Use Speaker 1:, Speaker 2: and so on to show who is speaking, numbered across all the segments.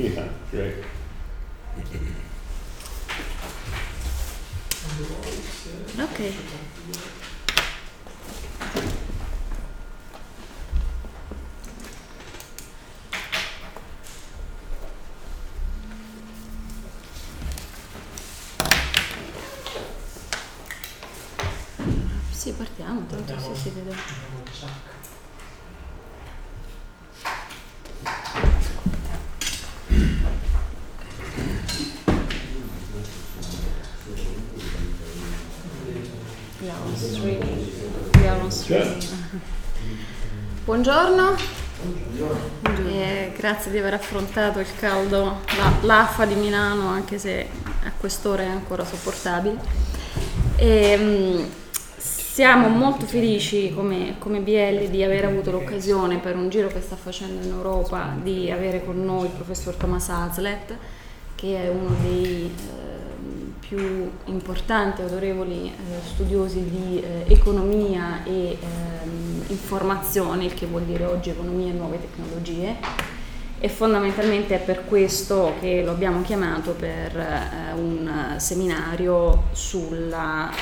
Speaker 1: Yeah, great.
Speaker 2: Okay. Sì, partiamo, tanto si vede. We are on streaming. Buongiorno. Grazie di aver affrontato il caldo, l'affa di Milano, anche se a quest'ora è ancora sopportabile. Siamo molto felici come BL di aver avuto l'occasione, per un giro che sta facendo in Europa, di avere con noi il professor Thomas Hazlitt, che è uno dei più importanti e autorevoli studiosi di economia e informazione, il che vuol dire oggi economia e nuove tecnologie, e fondamentalmente è per questo che lo abbiamo chiamato per un seminario sulla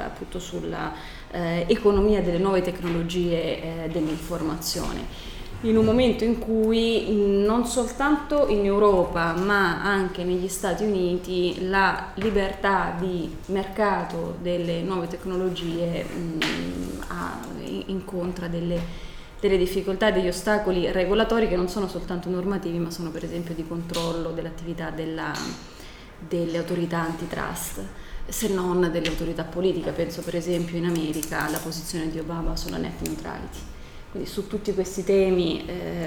Speaker 2: economia delle nuove tecnologie dell'informazione, in un momento in cui non soltanto in Europa ma anche negli Stati Uniti la libertà di mercato delle nuove tecnologie incontra delle difficoltà e degli ostacoli regolatori che non sono soltanto normativi, ma sono per esempio di controllo dell'attività delle autorità antitrust, se non delle autorità politiche. Penso per esempio in America alla posizione di Obama sulla net neutrality. Quindi su tutti questi temi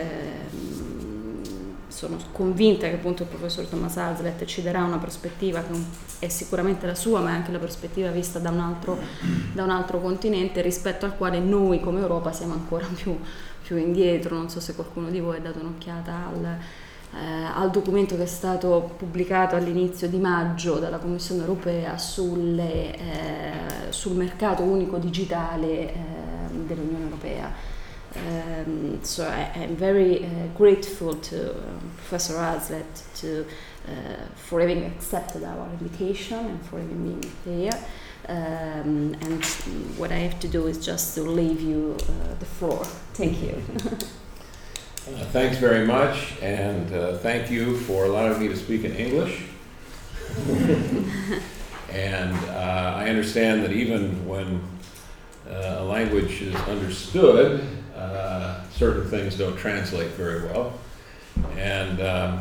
Speaker 2: sono convinta che appunto il professor Thomas Hazlitt ci darà una prospettiva che è sicuramente la sua, ma è anche la prospettiva vista da un altro continente, rispetto al quale noi come Europa siamo ancora più indietro. Non so se qualcuno di voi ha dato un'occhiata al documento che è stato pubblicato all'inizio di maggio dalla Commissione europea sul mercato unico digitale dell'Unione Europea. So I'm very grateful to Professor Hazlitt for having accepted our invitation and for having been here. And what I have to do is just to leave you the floor. Thank you.
Speaker 1: Thanks very much, and thank you for allowing me to speak in English. And I understand that even when a language is understood, certain things don't translate very well. And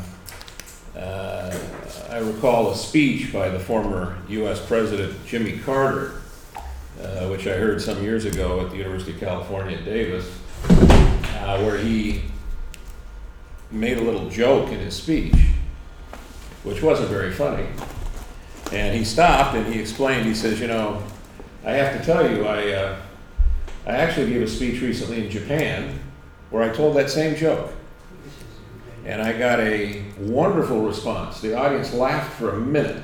Speaker 1: I recall a speech by the former U.S. President Jimmy Carter, which I heard some years ago at the University of California at Davis, where he made a little joke in his speech, which wasn't very funny. And he stopped and he explained, he says, I have to tell you, I actually gave a speech recently in Japan where I told that same joke. And I got a wonderful response. The audience laughed for a minute.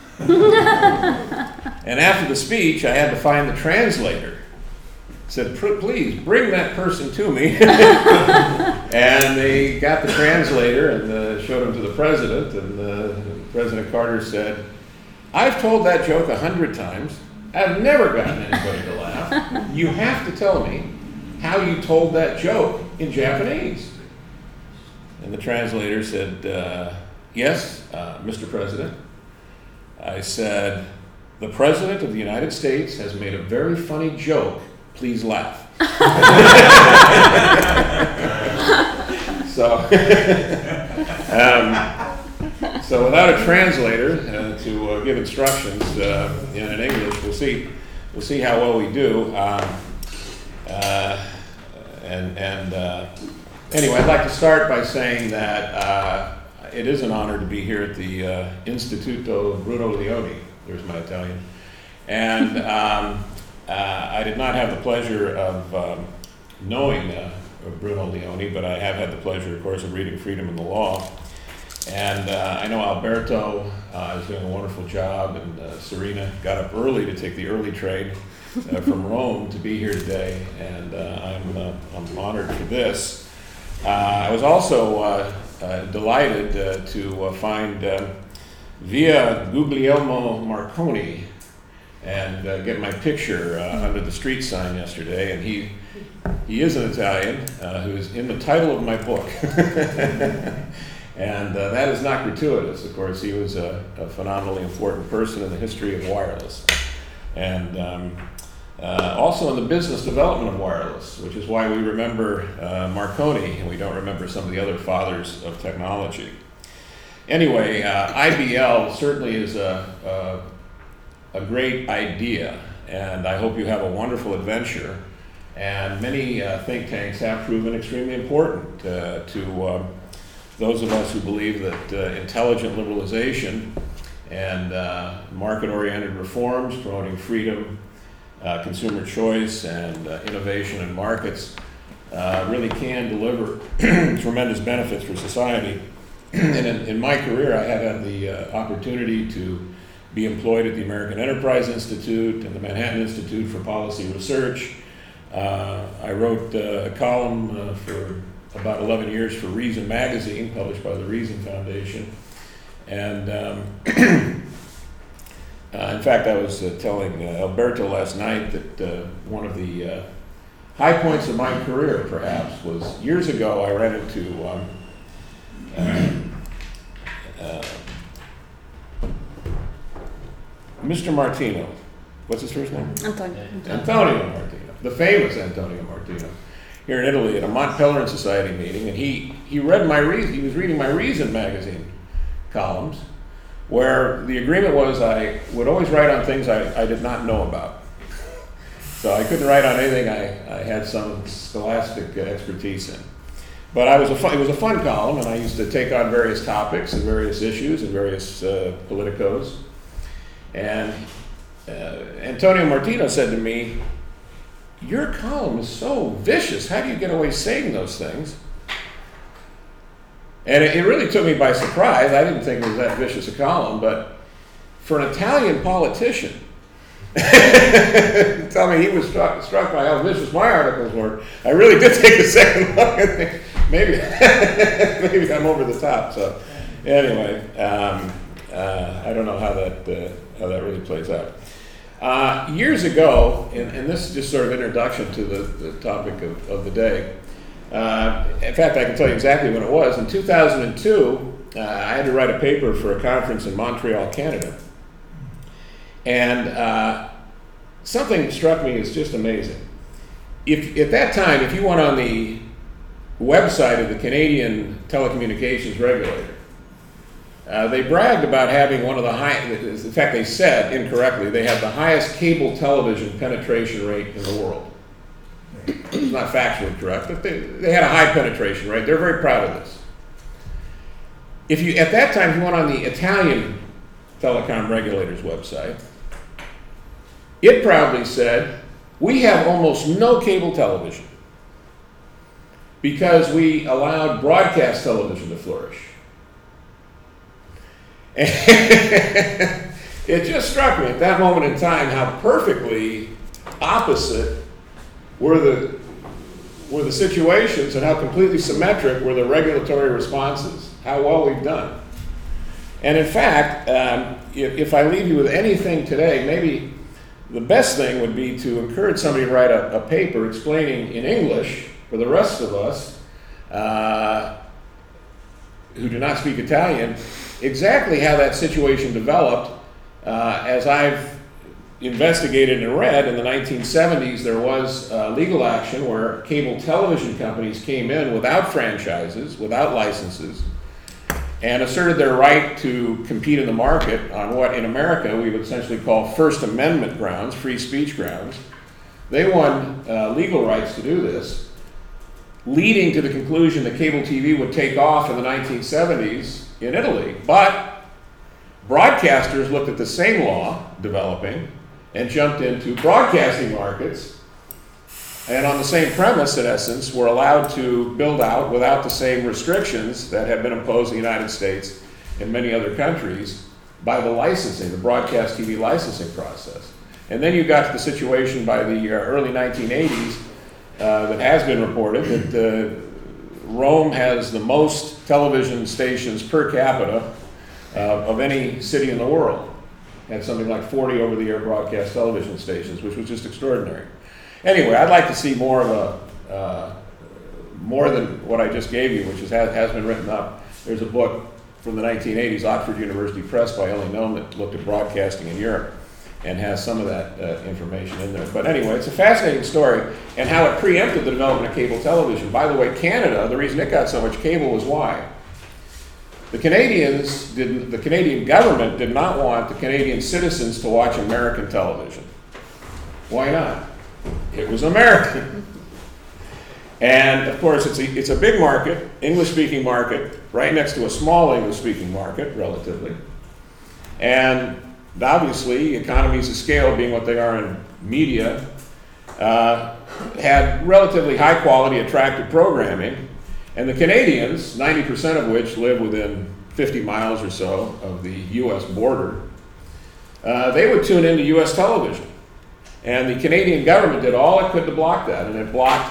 Speaker 1: And after the speech, I had to find the translator. Said, please bring that person to me. And they got the translator and showed him to the president. And President Carter said, I've told that joke 100 times. I've never gotten anybody to laugh. You have to tell me how you told that joke in Japanese. And the translator said, yes, Mr. President. I said, the President of the United States has made a very funny joke. Please laugh. So without a translator to give instructions in English, we'll see how well we do. Anyway, I'd like to start by saying that it is an honor to be here at the Istituto Bruno Leoni. There's my Italian. And I did not have the pleasure of knowing Bruno Leoni, but I have had the pleasure, of course, of reading Freedom and the Law. And I know Alberto is doing a wonderful job, and Serena got up early to take the early train from Rome to be here today, and I'm honored for this. I was also delighted to find Via Guglielmo Marconi and get my picture under the street sign yesterday. And he is an Italian who is in the title of my book. And that is not gratuitous. Of course, he was a phenomenally important person in the history of wireless. And also in the business development of wireless, which is why we remember Marconi and we don't remember some of the other fathers of technology. Anyway, IBL certainly is a great idea, and I hope you have a wonderful adventure. And many think tanks have proven extremely important to those of us who believe that intelligent liberalization and market-oriented reforms promoting freedom, consumer choice, and innovation in markets really can deliver tremendous benefits for society. And in my career, I have had the opportunity to be employed at the American Enterprise Institute and the Manhattan Institute for Policy Research. I wrote a column for about 11 years for Reason Magazine, published by the Reason Foundation. And in fact, I was telling Alberto last night that one of the high points of my career, perhaps, was years ago I ran into Mr. Martino. What's his first name? Antonio Martino, the famous Antonio Martino, here in Italy at a Mont Pelerin Society meeting, and he read he was reading my Reason magazine columns, where the agreement was I would always write on things I did not know about. So I couldn't write on anything I had some scholastic expertise in. But it was a fun column, and I used to take on various topics and various issues and various politicos. And Antonio Martino said to me, "Your column is so vicious. How do you get away saying those things?" And it really took me by surprise. I didn't think it was that vicious a column, but for an Italian politician, tell me he was struck by how vicious my articles were. I really did take a second look and think, maybe I'm over the top. So anyway, I don't know how that really plays out. Years ago, and this is just sort of introduction to the topic of the day. In fact, I can tell you exactly when it was. In 2002, I had to write a paper for a conference in Montreal, Canada. And something struck me as just amazing. At that time, if you went on the website of the Canadian Telecommunications Regulator, they bragged about having one of the highest, in fact, they said incorrectly, they had the highest cable television penetration rate in the world. It's not factually correct, but they had a high penetration rate. They're very proud of this. At that time, if you went on the Italian telecom regulator's website, it proudly said, "We have almost no cable television because we allowed broadcast television to flourish." And it just struck me at that moment in time how perfectly opposite were the situations and how completely symmetric were the regulatory responses, how well we've done. And in fact, if I leave you with anything today, maybe the best thing would be to encourage somebody to write a paper explaining in English for the rest of us who do not speak Italian exactly how that situation developed. As I've investigated and read, in the 1970s there was legal action where cable television companies came in without franchises, without licenses, and asserted their right to compete in the market on what in America we would essentially call First Amendment grounds, free speech grounds. They won legal rights to do this, leading to the conclusion that cable TV would take off in the 1970s in Italy. But broadcasters looked at the same law developing and jumped into broadcasting markets, and on the same premise, in essence, were allowed to build out without the same restrictions that have been imposed in the United States and many other countries by the licensing, the broadcast TV licensing process. And then you got to the situation by the early 1980s that has been reported that Rome has the most television stations per capita of any city in the world. Had something like 40 over-the-air broadcast television stations, which was just extraordinary. Anyway, I'd like to see more of more than what I just gave you, which has been written up. There's a book from the 1980s, Oxford University Press by Ellie Noam, that looked at broadcasting in Europe and has some of that information in there. But anyway, it's a fascinating story, and how it preempted the development of cable television. By the way, Canada, the reason it got so much cable was why? The Canadian government did not want the Canadian citizens to watch American television. Why not? It was American. And of course, it's a big market, English-speaking market, right next to a small English-speaking market, relatively. And obviously, economies of scale, being what they are in media, had relatively high-quality, attractive programming. And the Canadians, 90% of which live within 50 miles or so of the U.S. border, they would tune into U.S. television. And the Canadian government did all it could to block that, and it blocked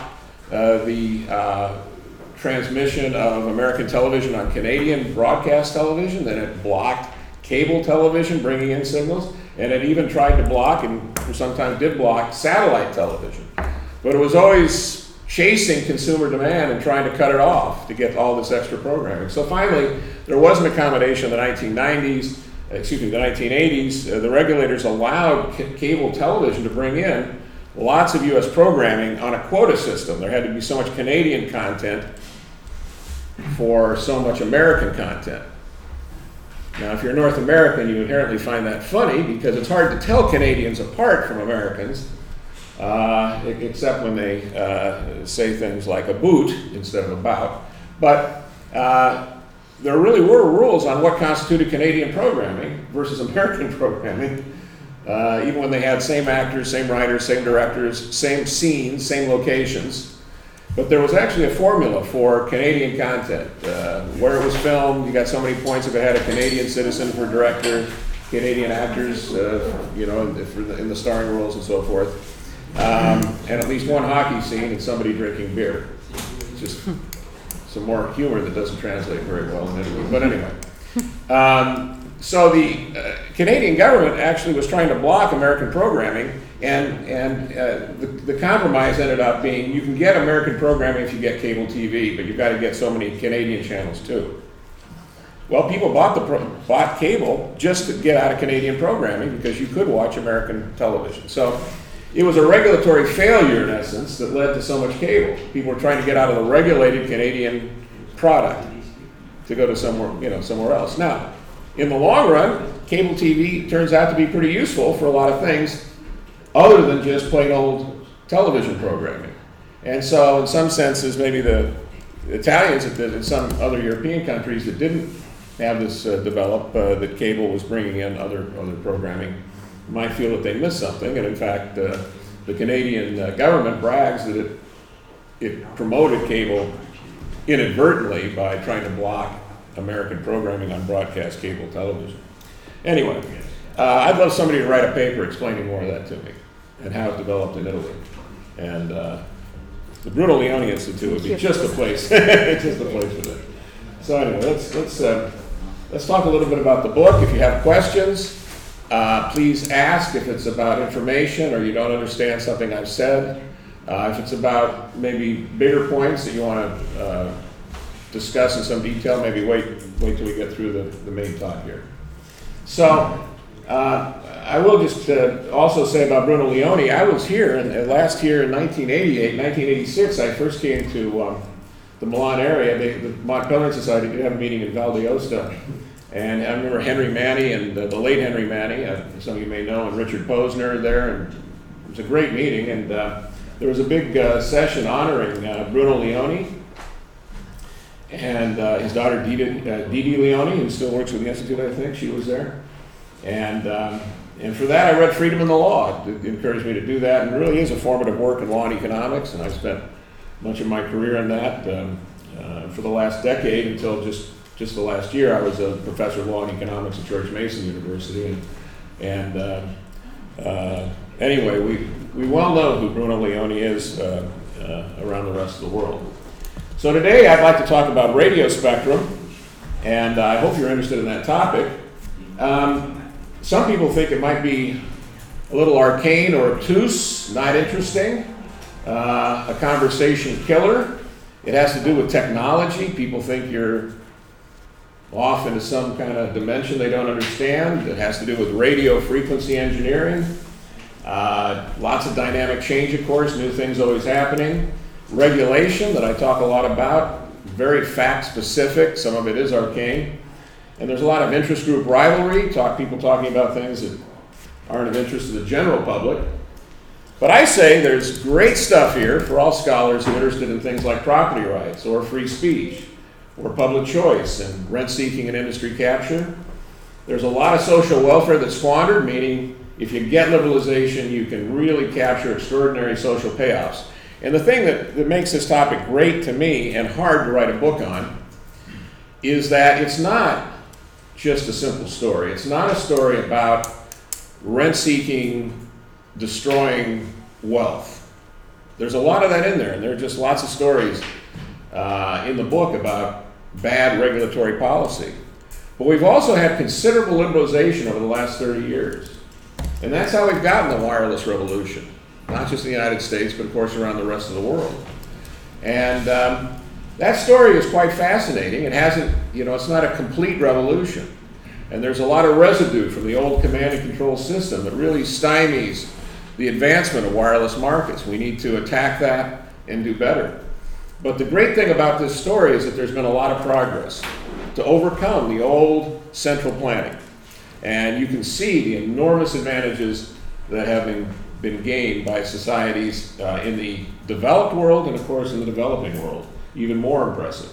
Speaker 1: the transmission of American television on Canadian broadcast television, then it blocked cable television bringing in signals, and it even tried to block, and sometimes did block, satellite television. But it was always chasing consumer demand and trying to cut it off to get all this extra programming. So finally, there was an accommodation in the 1980s. The regulators allowed cable television to bring in lots of U.S. programming on a quota system. There had to be so much Canadian content for so much American content. Now, if you're North American, you inherently find that funny, because it's hard to tell Canadians apart from Americans, except when they say things like a boot instead of about. But there really were rules on what constituted Canadian programming versus American programming, even when they had same actors, same writers, same directors, same scenes, same locations. But there was actually a formula for Canadian content. Where it was filmed, you got so many points if it had a Canadian citizen for director, Canadian actors, in the starring roles and so forth. And at least one hockey scene and somebody drinking beer. Just some more humor that doesn't translate very well in Italy. But anyway. So the Canadian government actually was trying to block American programming, and the compromise ended up being, you can get American programming if you get cable TV, but you've got to get so many Canadian channels too. Well, people bought cable just to get out of Canadian programming, because you could watch American television. So it was a regulatory failure, in essence, that led to so much cable. People were trying to get out of the regulated Canadian product to go to somewhere else. Now, in the long run, cable TV turns out to be pretty useful for a lot of things other than just plain old television programming. And so in some senses, maybe the Italians and some other European countries that didn't have this develop, that cable was bringing in other programming, might feel that they missed something. And in fact, the Canadian government brags that it promoted cable inadvertently by trying to block American programming on broadcast cable television. Anyway, I'd love somebody to write a paper explaining more of that to me and how it developed in Italy. And the Bruno Leone Institute would be just the place, just the place for that. So anyway, let's talk a little bit about the book. If you have questions, please ask. If it's about information or you don't understand something I've said, if it's about maybe bigger points that you want to discuss in some detail, maybe wait till we get through the main talk here. So I will just also say about Bruno Leone, I was here, and last year in 1986, I first came to the Milan area. The Montpellier Society did have a meeting in Val d'Aosta, and I remember Henry Manny and the late Henry Manny, some of you may know, and Richard Posner there, and it was a great meeting, and there was a big session honoring Bruno Leone and his daughter Didi Leone, who still works with the Institute, I think. She was there. And for that, I read Freedom in the Law. It encouraged me to do that, and it really is a formative work in law and economics, and I spent much of my career in that. For the last decade, until just the last year, I was a professor of law and economics at George Mason University. And anyway, we well know who Bruno Leone is around the rest of the world. So today I'd like to talk about radio spectrum, and I hope you're interested in that topic. Some people think it might be a little arcane or obtuse, not interesting, a conversation killer. It has to do with technology. People think you're off into some kind of dimension they don't understand. It has to do with radio frequency engineering. Lots of dynamic change, of course, new things always happening. Regulation that I talk a lot about, very fact-specific, some of it is arcane. And there's a lot of interest group rivalry, people talking about things that aren't of interest to the general public. But I say there's great stuff here for all scholars who are interested in things like property rights or free speech or public choice and rent-seeking and industry capture. There's a lot of social welfare that's squandered, meaning if you get liberalization, you can really capture extraordinary social payoffs. And the thing that makes this topic great to me and hard to write a book on is that it's not just a simple story. It's not a story about rent-seeking, destroying wealth. There's a lot of that in there, and there are just lots of stories in the book about bad regulatory policy. But we've also had considerable liberalization over the last 30 years. And that's how we've gotten the wireless revolution. Not just in the United States, but of course around the rest of the world. And that story is quite fascinating. It hasn't, it's not a complete revolution. And there's a lot of residue from the old command and control system that really stymies the advancement of wireless markets. We need to attack that and do better. But the great thing about this story is that there's been a lot of progress to overcome the old central planning. And you can see the enormous advantages that have been gained by societies in the developed world and, of course, in the developing world. Even more impressive.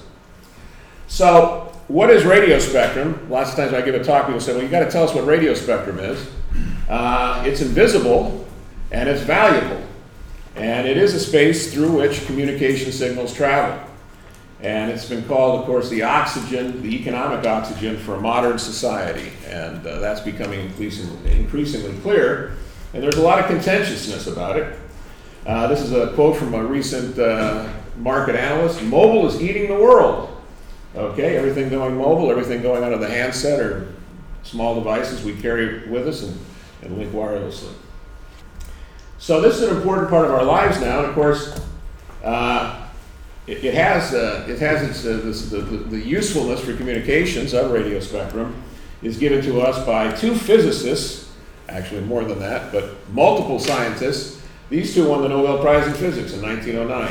Speaker 1: So, what is radio spectrum? Lots of times when I give a talk, people say, well, you got to tell us what radio spectrum is. It's invisible and it's valuable. And it is a space through which communication signals travel. And it's been called, of course, the oxygen, the economic oxygen for a modern society. And that's becoming increasingly clear. And there's a lot of contentiousness about it. This is a quote from a recent market analyst. Mobile is eating the world. Okay, everything going mobile, everything going onto the handset or small devices we carry with us and link wirelessly. So this is an important part of our lives now. And of course, it has the usefulness for communications of radio spectrum is given to us by two physicists, actually more than that, but multiple scientists. These two won the Nobel Prize in Physics in 1909.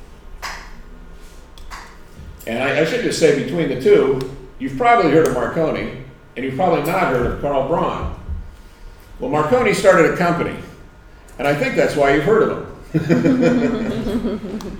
Speaker 1: And I should just say, between the two, you've probably heard of Marconi, and you've probably not heard of Karl Braun. Well, Marconi started a company, and I think that's why you've heard of him.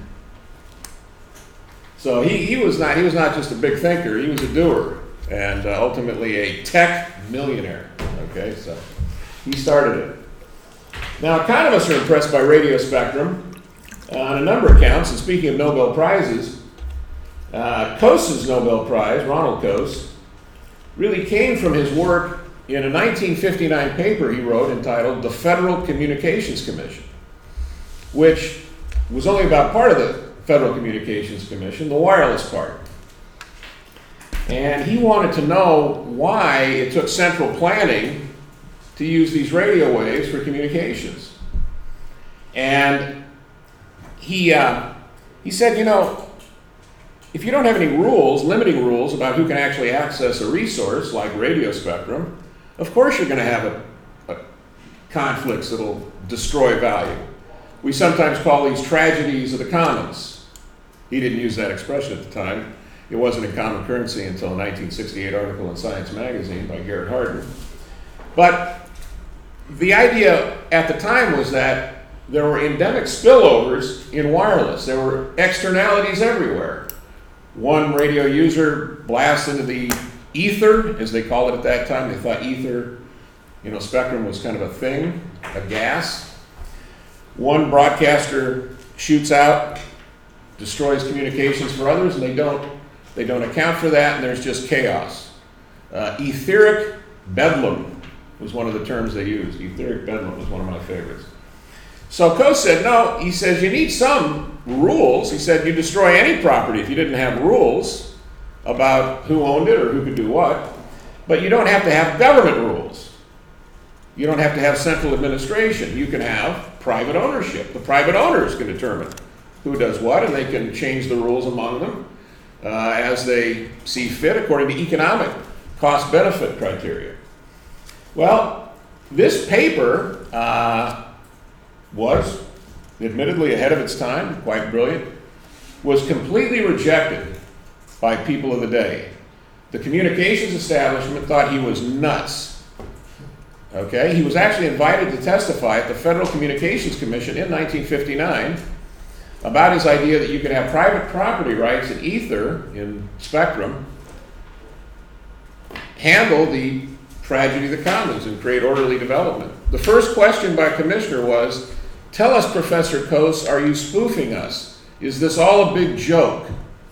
Speaker 1: So he was not just a big thinker, he was a doer, and ultimately a tech millionaire. Okay, so he started it. Now, economists are impressed by radio spectrum on a number of counts, and speaking of Nobel Prizes, Coase's Nobel Prize, Ronald Coase, really came from his work in a 1959 paper he wrote entitled The Federal Communications Commission, which was only about part of the Federal Communications Commission, the wireless part. And he wanted to know why it took central planning to use these radio waves for communications. And he said, if you don't have any rules, limiting rules about who can actually access a resource like radio spectrum, of course you're going to have a conflicts that will destroy value. We sometimes call these tragedies of the commons. He didn't use that expression at the time. It wasn't in Common Currency until a 1968 article in Science Magazine by Garrett Hardin. But the idea at the time was that there were endemic spillovers in wireless. There were externalities everywhere. One radio user blasts into the ether, as they called it at that time. They thought ether, spectrum was kind of a thing, a gas. One broadcaster shoots out, destroys communications for others, and they don't account for that, and there's just chaos. Etheric bedlam was one of the terms they used. Etheric bedlam was one of my favorites. So Coase said, no, he says, you need some rules. He said you destroy any property if you didn't have rules about who owned it or who could do what. But you don't have to have government rules. You don't have to have central administration. You can have private ownership. The private owners can determine who does what, and they can change the rules among them as they see fit according to economic cost-benefit criteria. Well, this paper was admittedly ahead of its time, quite brilliant, was completely rejected by people of the day. The communications establishment thought he was nuts. Okay, he was actually invited to testify at the Federal Communications Commission in 1959 about his idea that you could have private property rights in ether, in spectrum, handle the tragedy of the commons and create orderly development. The first question by a commissioner was, tell us, Professor Coase, are you spoofing us? Is this all a big joke?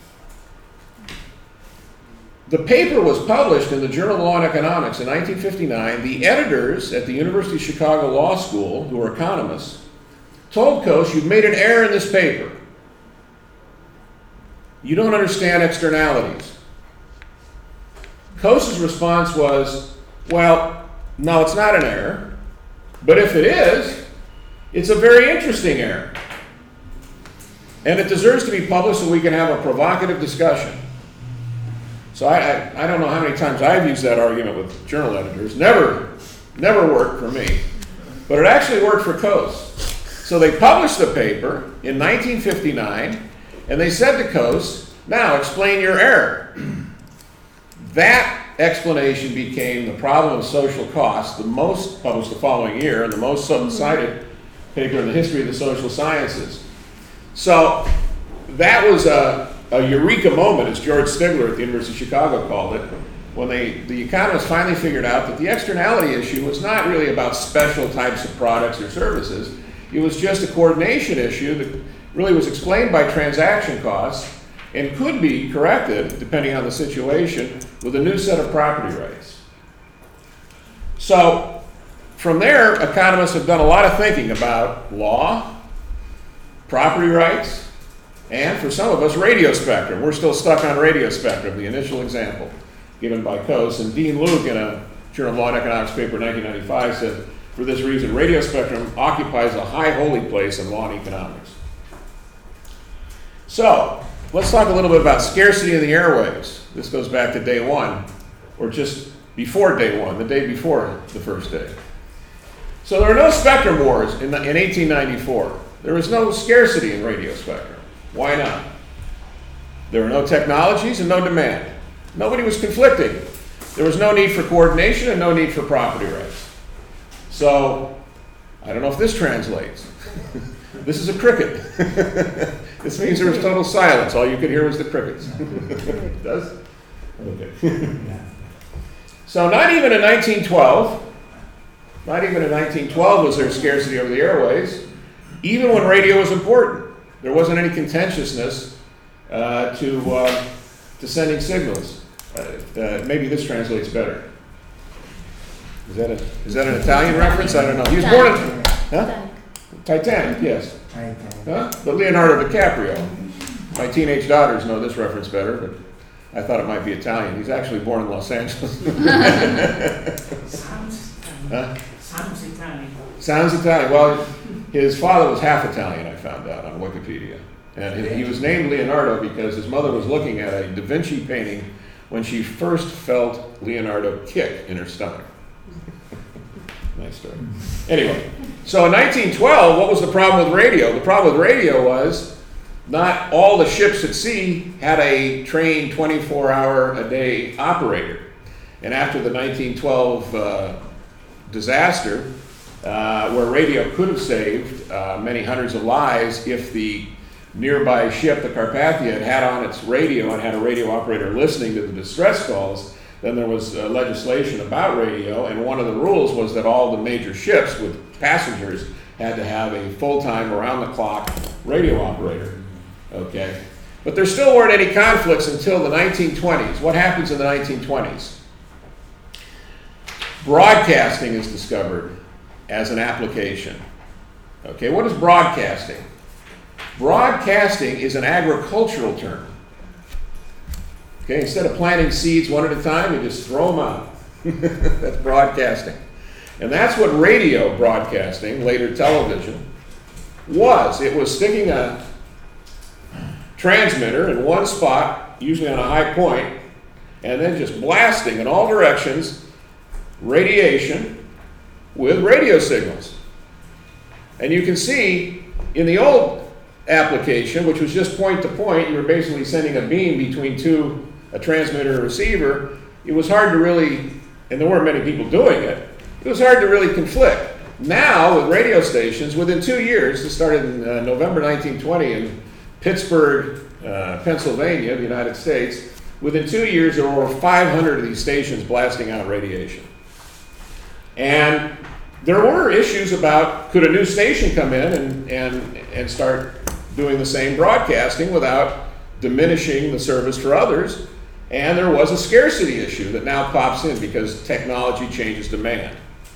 Speaker 1: The paper was published in the Journal of Law and Economics in 1959. The editors at the University of Chicago Law School, who were economists, told Coase, you've made an error in this paper. You don't understand externalities. Coase's response was, well, no, it's not an error, but if it is, it's a very interesting error. And it deserves to be published so we can have a provocative discussion. So I don't know how many times I've used that argument with journal editors. Never worked for me. But it actually worked for Coase. So they published the paper in 1959, and they said to Coase, now explain your error. That explanation became the problem of social cost, the most published the following year, and the most cited paper in the history of the social sciences. So that was a eureka moment, as George Stigler at the University of Chicago called it, when the economists finally figured out that the externality issue was not really about special types of products or services. It was just a coordination issue that really was explained by transaction costs and could be corrected, depending on the situation, with a new set of property rights. So from there, economists have done a lot of thinking about law, property rights, and for some of us, radio spectrum. We're still stuck on radio spectrum, the initial example given by Coase. And Dean Luke, in a Journal of Law and Economics paper in 1995, said, for this reason, radio spectrum occupies a high holy place in law and economics. So, let's talk a little bit about scarcity of the airwaves. This goes back to day one, or just before day one, the day before the first day. So there were no spectrum wars in 1894. There was no scarcity in radio spectrum. Why not? There were no technologies and no demand. Nobody was conflicting. There was no need for coordination and no need for property rights. So, I don't know if this translates. This is a cricket. This means there was total silence. All you could hear was the crickets. It does? Okay. So not even in 1912 was there scarcity over the airways, even when radio was important. There wasn't any contentiousness to sending signals. Maybe this translates better. Is that an Italian reference? I don't know. He was born in Titanic, yes. Huh? But Leonardo DiCaprio. My teenage daughters know this reference better, but I thought it might be Italian. He's actually born in Los Angeles.
Speaker 3: Sounds Italian.
Speaker 1: Sounds Italian. Well, his father was half Italian, I found out on Wikipedia. And he was named Leonardo because his mother was looking at a Da Vinci painting when she first felt Leonardo kick in her stomach. Nice story. Anyway, so in 1912, what was the problem with radio? The problem with radio was not all the ships at sea had a trained 24-hour-a-day operator. And after the 1912 disaster, where radio could have saved many hundreds of lives if the nearby ship, the Carpathia, had on its radio and had a radio operator listening to the distress calls, then there was legislation about radio, and one of the rules was that all the major ships with passengers had to have a full-time, around-the-clock radio operator. Okay? But there still weren't any conflicts until the 1920s. What happens in the 1920s? Broadcasting is discovered as an application. Okay, what is broadcasting? Broadcasting is an agricultural term. Okay, instead of planting seeds one at a time, you just throw them out. That's broadcasting. And that's what radio broadcasting, later television, was. It was sticking a transmitter in one spot, usually on a high point, and then just blasting in all directions radiation with radio signals. And you can see in the old application, which was just point to point, you were basically sending a beam between a transmitter and a receiver. It was hard to really, and there weren't many people doing it, it was hard to really conflict. Now, with radio stations, within 2 years, this started in November 1920 in Pittsburgh, Pennsylvania, the United States, within 2 years there were over 500 of these stations blasting out radiation. And there were issues about, could a new station come in and start doing the same broadcasting without diminishing the service for others? And there was a scarcity issue that now pops in because technology changes demand.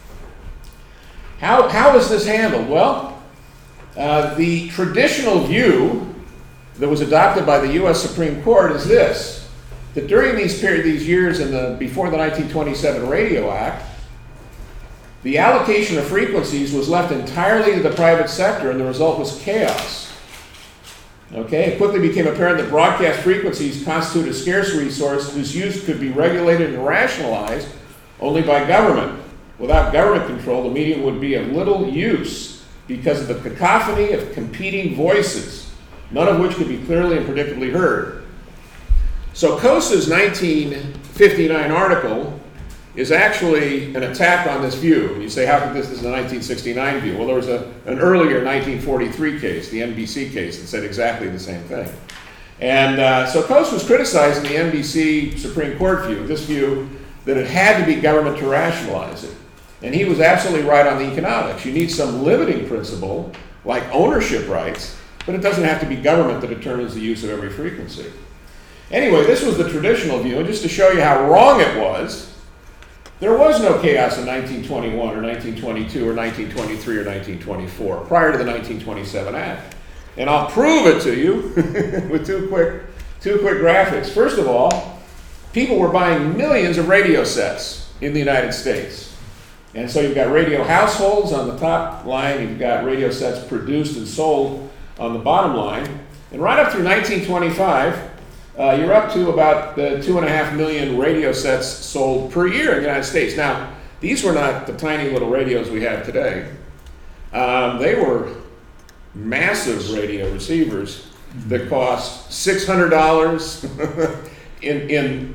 Speaker 1: How is this handled? Well, the traditional view that was adopted by the U.S. Supreme Court is this, that during these years before the 1927 Radio Act, the allocation of frequencies was left entirely to the private sector, and the result was chaos. Okay, it quickly became apparent that broadcast frequencies constitute a scarce resource whose use could be regulated and rationalized only by government. Without government control, the medium would be of little use because of the cacophony of competing voices, none of which could be clearly and predictably heard. So Cosa's 1959 article is actually an attack on this view. You say, how could this is a 1969 view? Well, there was an earlier 1943 case, the NBC case, that said exactly the same thing. And so Cosa was criticizing the NBC Supreme Court view, this view that it had to be government to rationalize it. And he was absolutely right on the economics. You need some limiting principle, like ownership rights, but it doesn't have to be government that determines the use of every frequency. Anyway, this was the traditional view, and just to show you how wrong it was, there was no chaos in 1921 or 1922 or 1923 or 1924, prior to the 1927 Act. And I'll prove it to you with two quick graphics. First of all, people were buying millions of radio sets in the United States. And so you've got radio households on the top line, you've got radio sets produced and sold on the bottom line. And right up through 1925, you're up to about 2.5 million radio sets sold per year in the United States. Now, these were not the tiny little radios we have today. They were massive radio receivers that cost $600 in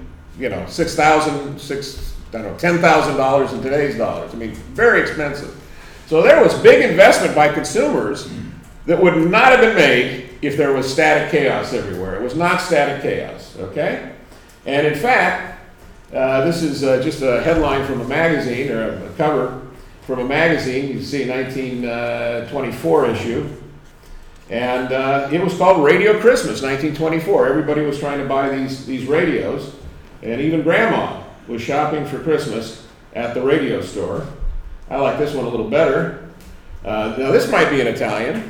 Speaker 1: $10,000 in today's dollars. I mean, very expensive. So there was big investment by consumers that would not have been made if there was static chaos everywhere. It was not static chaos, okay? And in fact, this is just a headline from a magazine, or a cover from a magazine. You can see a 1924 issue. And it was called Radio Christmas, 1924. Everybody was trying to buy these radios, and even Grandma was shopping for Christmas at the radio store. I like this one a little better. Now this might be in Italian.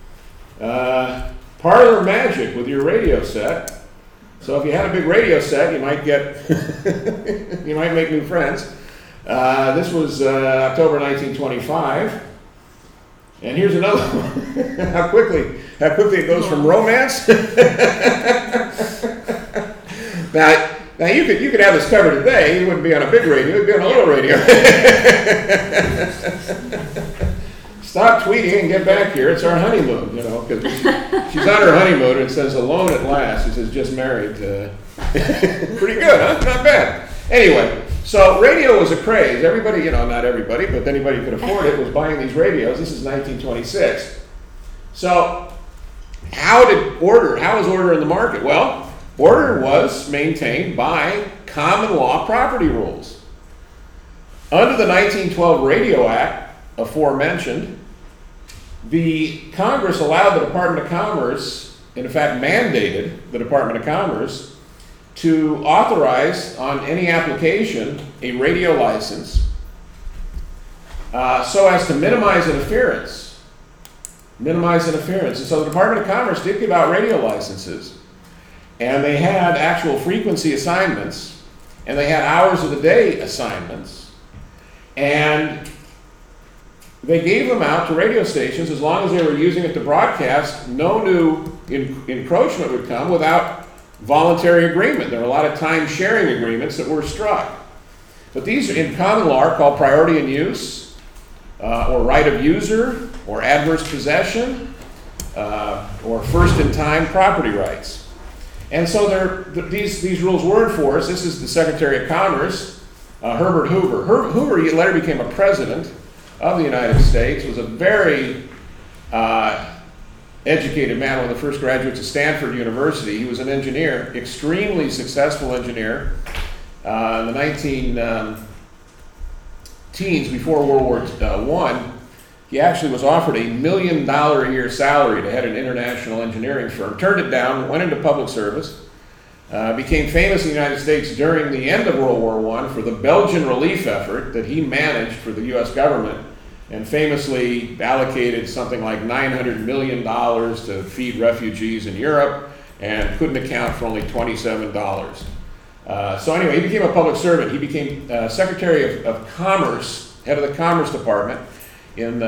Speaker 1: Parlor magic with your radio set. So if you had a big radio set, you might you might make new friends. This was October 1925. And here's another one. how quickly it goes from romance. Now you could have this covered today. You wouldn't be on a big radio. You'd be on a little radio. Stop tweeting and get back here. It's our honeymoon, because she's on her honeymoon and it says alone at last. It says just married. Pretty good, huh? Not bad. Anyway, so radio was a craze. Everybody, not everybody, but anybody who could afford it was buying these radios. This is 1926. So how was order in the market? Well, order was maintained by common law property rules. Under the 1912 Radio Act, aforementioned, the Congress allowed the Department of Commerce, and in fact mandated the Department of Commerce, to authorize on any application a radio license so as to minimize interference minimize interference. And so the Department of Commerce did give out radio licenses. And they had actual frequency assignments. And they had hours of the day assignments. And they gave them out to radio stations as long as they were using it to broadcast. No new encroachment would come without voluntary agreement. There were a lot of time-sharing agreements that were struck. But these in common law are called priority in use, or right of user, or adverse possession, or first-in-time property rights. And so these rules were enforced. This is the Secretary of Commerce, Herbert Hoover. Hoover later became a president of the United States, was a very educated man, one of the first graduates of Stanford University. He was an engineer, extremely successful engineer. In the 19-teens, before World War I, he actually was offered $1 million a year salary to head an international engineering firm. Turned it down, went into public service, became famous in the United States during the end of World War I for the Belgian relief effort that he managed for the U.S. government, and famously allocated something like $900 million to feed refugees in Europe, and couldn't account for only $27. So anyway, he became a public servant. He became Secretary of Commerce, head of the Commerce Department in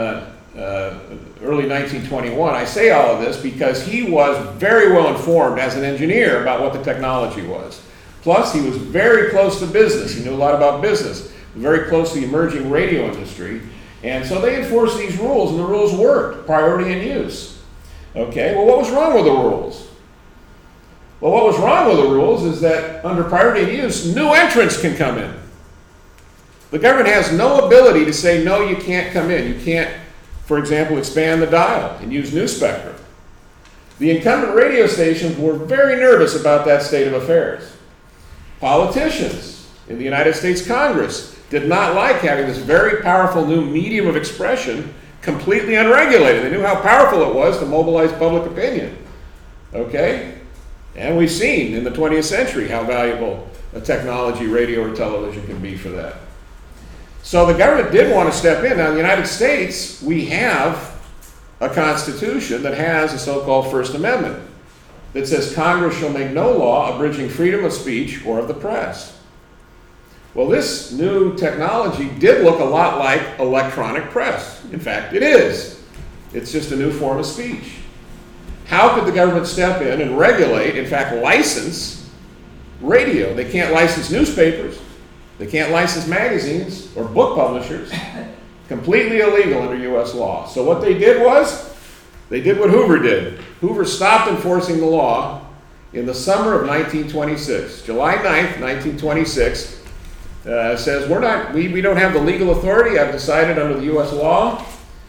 Speaker 1: early 1921. I say all of this because he was very well informed as an engineer about what the technology was. Plus, he was very close to business. He knew a lot about business, very close to the emerging radio industry. And so they enforced these rules, and the rules worked, priority in use. Okay, well, what was wrong with the rules? Well, what was wrong with the rules is that under priority in use, new entrants can come in. The government has no ability to say, no, you can't come in. You can't, for example, expand the dial and use new spectrum. The incumbent radio stations were very nervous about that state of affairs. Politicians in the United States Congress did not like having this very powerful new medium of expression completely unregulated. They knew how powerful it was to mobilize public opinion. Okay? And we've seen in the 20th century how valuable a technology, radio or television, can be for that. So the government did want to step in. Now, in the United States, we have a constitution that has a so-called First Amendment that says Congress shall make no law abridging freedom of speech or of the press. Well, this new technology did look a lot like electronic press. In fact, it is. It's just a new form of speech. How could the government step in and regulate, in fact, license radio? They can't license newspapers. They can't license magazines or book publishers. Completely illegal under U.S. law. So what they did was, they did what Hoover did. Hoover stopped enforcing the law in the summer of 1926. July 9th, 1926, says we don't have the legal authority. I've decided under the U.S. law,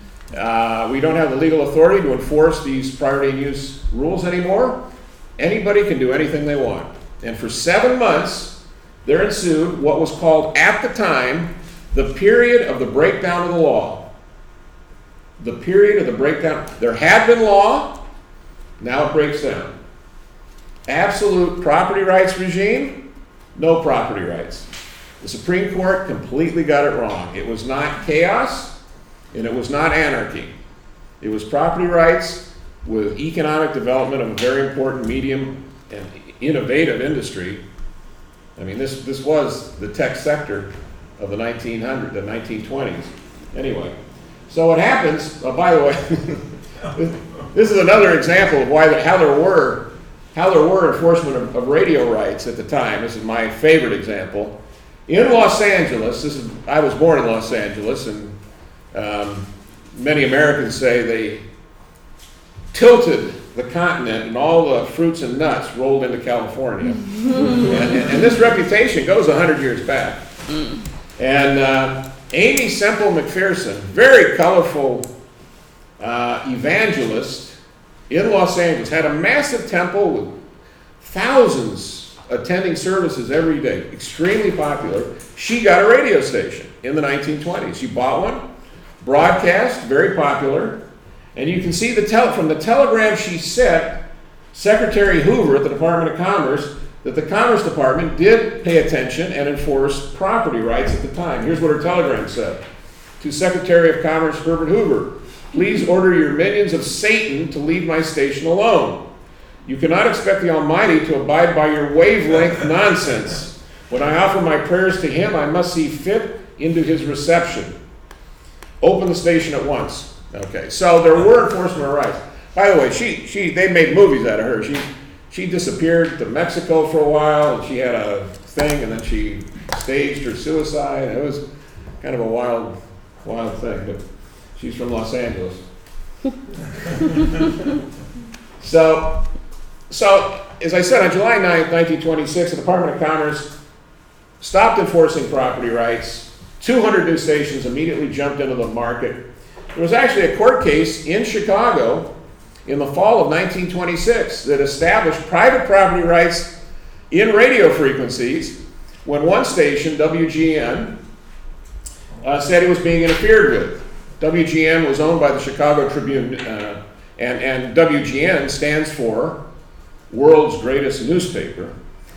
Speaker 1: we don't have the legal authority to enforce these priority in use rules anymore. Anybody can do anything they want. And for 7 months, there ensued what was called, at the time, the period of the breakdown of the law. The period of the breakdown. There had been law, now it breaks down. Absolute property rights regime, no property rights. The Supreme Court completely got it wrong. It was not chaos, and it was not anarchy. It was property rights with economic development of a very important medium and innovative industry. I mean, this was the tech sector of the 1920s. Anyway, so what happens, by the way, this is another example of how there were enforcement of radio rights at the time. This is my favorite example. In Los Angeles, I was born in Los Angeles, and many Americans say they tilted the continent and all the fruits and nuts rolled into California. and this reputation goes 100 years back. And Amy Semple McPherson, very colorful evangelist in Los Angeles, had a massive temple with thousands attending services every day, extremely popular. She got a radio station in the 1920s. She bought one, broadcast, very popular. And you can see from the telegram she sent Secretary Hoover at the Department of Commerce that the Commerce Department did pay attention and enforce property rights at the time. Here's what her telegram said. to Secretary of Commerce Herbert Hoover, please order your minions of Satan to leave my station alone. You cannot expect the Almighty to abide by your wavelength nonsense. When I offer my prayers to him, I must see fit into his reception. Open the station at once. Okay, so there were enforcement of rights. By the way, they made movies out of her. She disappeared to Mexico for a while, and she had a thing, and then she staged her suicide. It was kind of a wild thing, but she's from Los Angeles. So, as I said, on July 9th, 1926, the Department of Commerce stopped enforcing property rights. 200 new stations immediately jumped into the market. There was actually a court case in Chicago in the fall of 1926 that established private property rights in radio frequencies when one station, WGN, said it was being interfered with. WGN was owned by the Chicago Tribune, and WGN stands for World's Greatest Newspaper.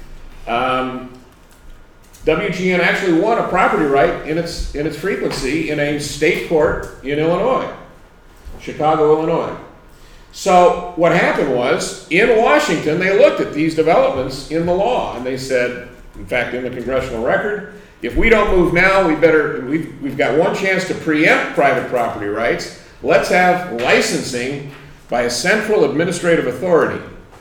Speaker 1: WGN actually won a property right in its frequency in a state court in Illinois, Chicago, Illinois. So what happened was, in Washington, they looked at these developments in the law, and they said, in fact, in the congressional record, if we don't move now, we've got one chance to preempt private property rights. Let's have licensing by a central administrative authority.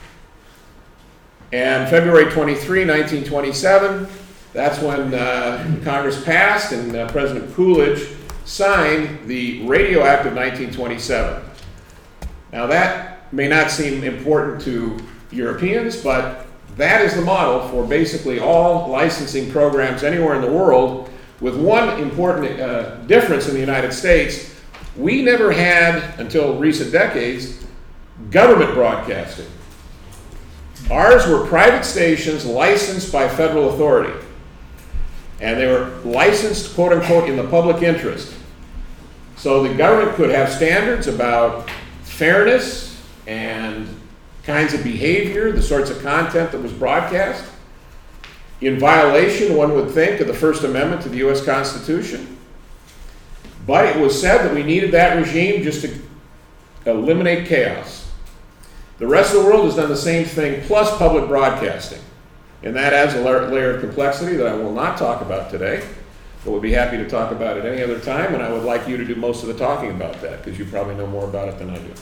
Speaker 1: And February 23, 1927, that's when Congress passed and President Coolidge signed the Radio Act of 1927. Now that may not seem important to Europeans, but that is the model for basically all licensing programs anywhere in the world, with one important difference in the United States. We never had, until recent decades, government broadcasting. Ours were private stations licensed by federal authority. And they were licensed, quote unquote, in the public interest. So the government could have standards about fairness and kinds of behavior, the sorts of content that was broadcast, in violation, one would think, of the First Amendment to the U.S. Constitution. But it was said that we needed that regime just to eliminate chaos. The rest of the world has done the same thing, plus public broadcasting. And that adds a layer of complexity that I will not talk about today, but would be happy to talk about it any other time, and I would like you to do most of the talking about that, because you probably know more about it than I do.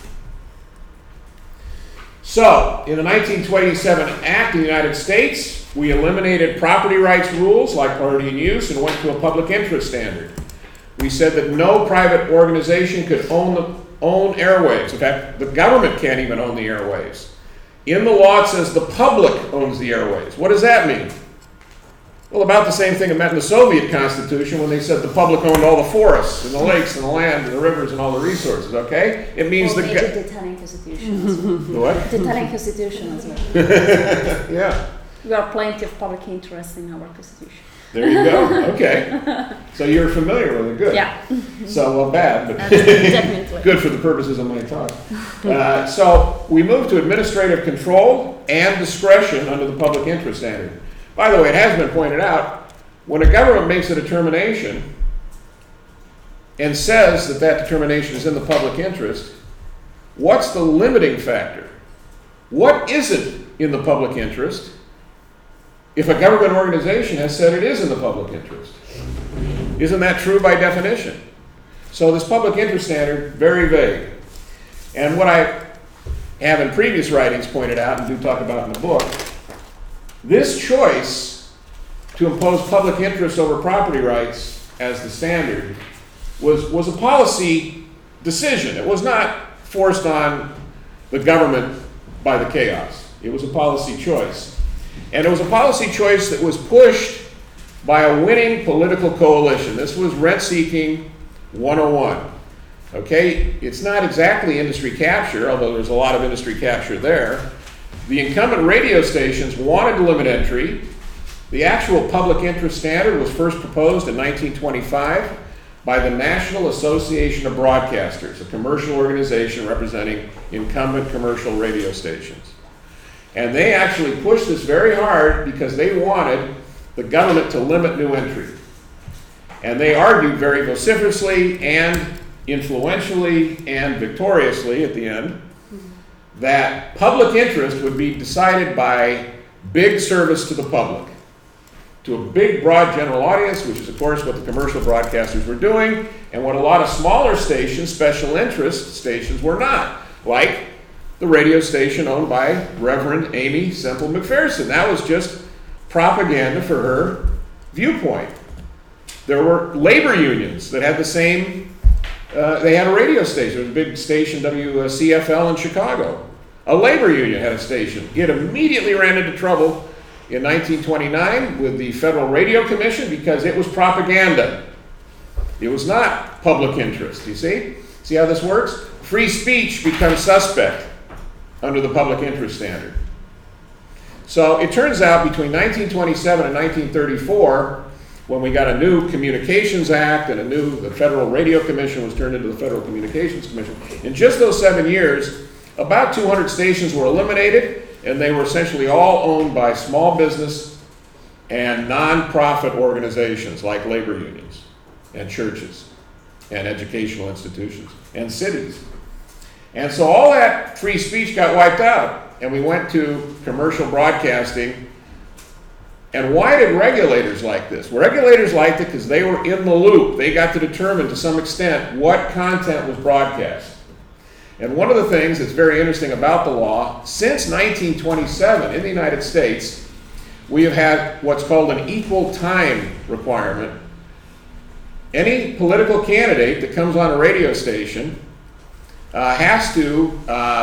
Speaker 1: So, in the 1927 Act in the United States, we eliminated property rights rules like property in use and went to a public interest standard. We said that no private organization could own airwaves. In fact, the government can't even own the airwaves. In the law, it says the public owns the airwaves. What does that mean? Well, about the same thing it meant in the Soviet Constitution when they said the public owned all the forests and the lakes and the land and the rivers and all the resources, okay? It means
Speaker 2: the Italian Constitution as well.
Speaker 1: The what?
Speaker 2: The Italian Constitution as well.
Speaker 1: Yeah.
Speaker 2: We have plenty of public interest in our Constitution.
Speaker 1: There you go. Okay. So you're familiar with it. Good.
Speaker 2: Yeah.
Speaker 1: So, well, bad, but
Speaker 2: definitely
Speaker 1: good for the purposes of my talk. So we moved to administrative control and discretion under the public interest standard. By the way, it has been pointed out, when a government makes a determination and says that that determination is in the public interest, what's the limiting factor? What isn't in the public interest if a government organization has said it is in the public interest? Isn't that true by definition? So this public interest standard, very vague. And what I have in previous writings pointed out and do talk about in the book, this choice to impose public interest over property rights as the standard was a policy decision. It was not forced on the government by the chaos. It was a policy choice. And it was a policy choice that was pushed by a winning political coalition. This was rent-seeking 101. Okay, it's not exactly industry capture, although there's a lot of industry capture there. The incumbent radio stations wanted to limit entry. The actual public interest standard was first proposed in 1925 by the National Association of Broadcasters, a commercial organization representing incumbent commercial radio stations. And they actually pushed this very hard because they wanted the government to limit new entry. And they argued very vociferously and influentially and victoriously at the end that public interest would be decided by big service to the public, to a big, broad general audience, which is, of course, what the commercial broadcasters were doing, and what a lot of smaller stations, special interest stations, were not, like the radio station owned by Reverend Amy Semple McPherson. That was just propaganda for her viewpoint. There were labor unions that had the same, they had a radio station. There was a big station, WCFL in Chicago. A labor union had a station. It immediately ran into trouble in 1929 with the Federal Radio Commission because it was propaganda. It was not public interest, you see? See how this works? Free speech becomes suspect under the public interest standard. So it turns out between 1927 and 1934, when we got a new Communications Act and the Federal Radio Commission was turned into the Federal Communications Commission, in just those 7 years, about 200 stations were eliminated, and they were essentially all owned by small business and nonprofit organizations like labor unions and churches and educational institutions and cities. And so all that free speech got wiped out, and we went to commercial broadcasting. And why did regulators like this? Well, regulators liked it because they were in the loop. They got to determine to some extent what content was broadcast. And one of the things that's very interesting about the law, since 1927 in the United States, we have had what's called an equal time requirement. Any political candidate that comes on a radio station has to,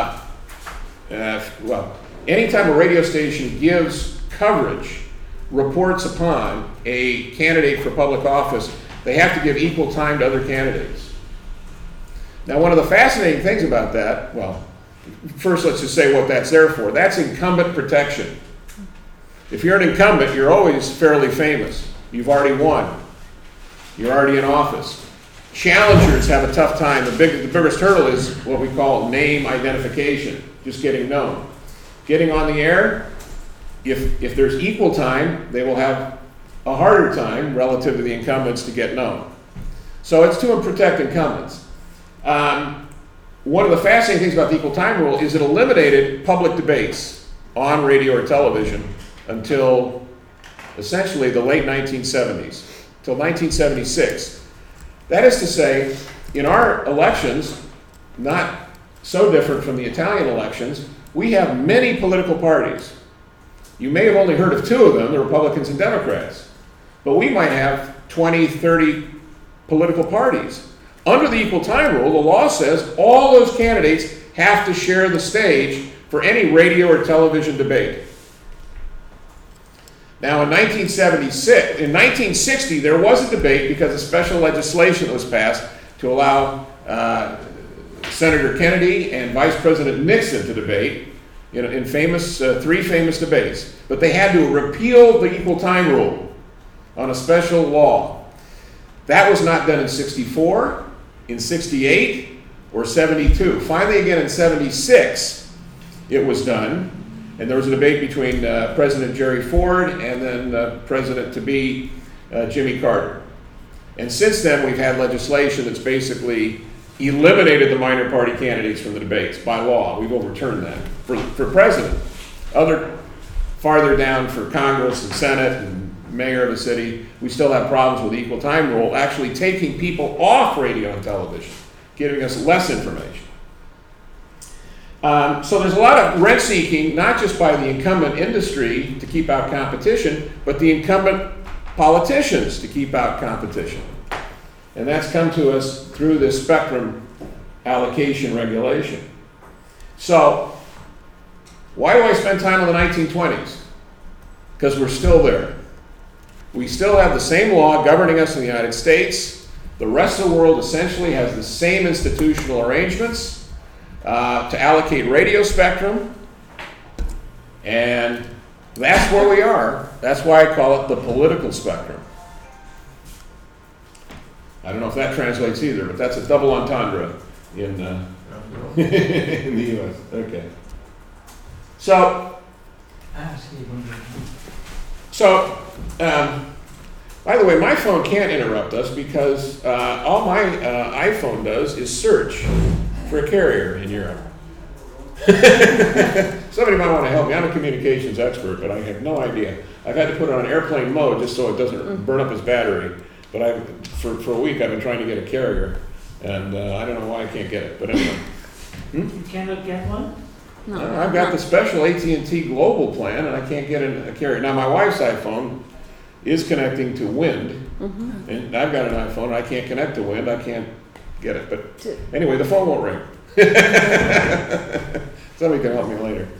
Speaker 1: anytime a radio station gives coverage, reports upon a candidate for public office, they have to give equal time to other candidates. Now, one of the fascinating things about that, well, first let's just say what that's there for. That's incumbent protection. If you're an incumbent, you're always fairly famous. You've already won. You're already in office. Challengers have a tough time. The biggest hurdle is what we call name identification, just getting known. Getting on the air, if there's equal time, they will have a harder time relative to the incumbents to get known. So it's to protect incumbents. One of the fascinating things about the equal time rule is it eliminated public debates on radio or television until essentially the late 1970s, till 1976. That is to say, in our elections, not so different from the Italian elections, we have many political parties. You may have only heard of two of them, the Republicans and Democrats, but we might have 20, 30 political parties. Under the equal time rule, the law says all those candidates have to share the stage for any radio or television debate. Now in 1960, there was a debate because of special legislation that was passed to allow Senator Kennedy and Vice President Nixon to debate in three famous debates. But they had to repeal the equal time rule on a special law. That was not done in 64, in 68, or 72. Finally, again in 76, it was done. And there was a debate between President Jerry Ford and then President-to-be Jimmy Carter. And since then, we've had legislation that's basically eliminated the minor party candidates from the debates by law. We've overturned that for president. Farther down for Congress and Senate and mayor of the city, we still have problems with the equal time rule, actually taking people off radio and television, giving us less information. So there's a lot of rent seeking, not just by the incumbent industry to keep out competition, but the incumbent politicians to keep out competition. And that's come to us through this spectrum allocation regulation. So why do I spend time on the 1920s? Because we're still there. We still have the same law governing us in the United States. The rest of the world essentially has the same institutional arrangements to allocate radio spectrum, and that's where we are. That's why I call it the political spectrum. I don't know if that translates either, but that's a double entendre in in the U.S. Okay. So By the way, my phone can't interrupt us because all my iPhone does is search for a carrier in Europe. Somebody might want to help me. I'm a communications expert, but I have no idea. I've had to put it on airplane mode just so it doesn't burn up its battery. But for a week I've been trying to get a carrier, and I don't know why I can't get it. But anyway.
Speaker 3: You cannot get one?
Speaker 2: No,
Speaker 1: I've got the special AT&T Global plan, and I can't get a carrier. Now, my wife's iPhone is connecting to Wind, and I've got an iPhone. I can't connect to Wind. I can't get it. But anyway, the phone won't ring. Somebody can help me later.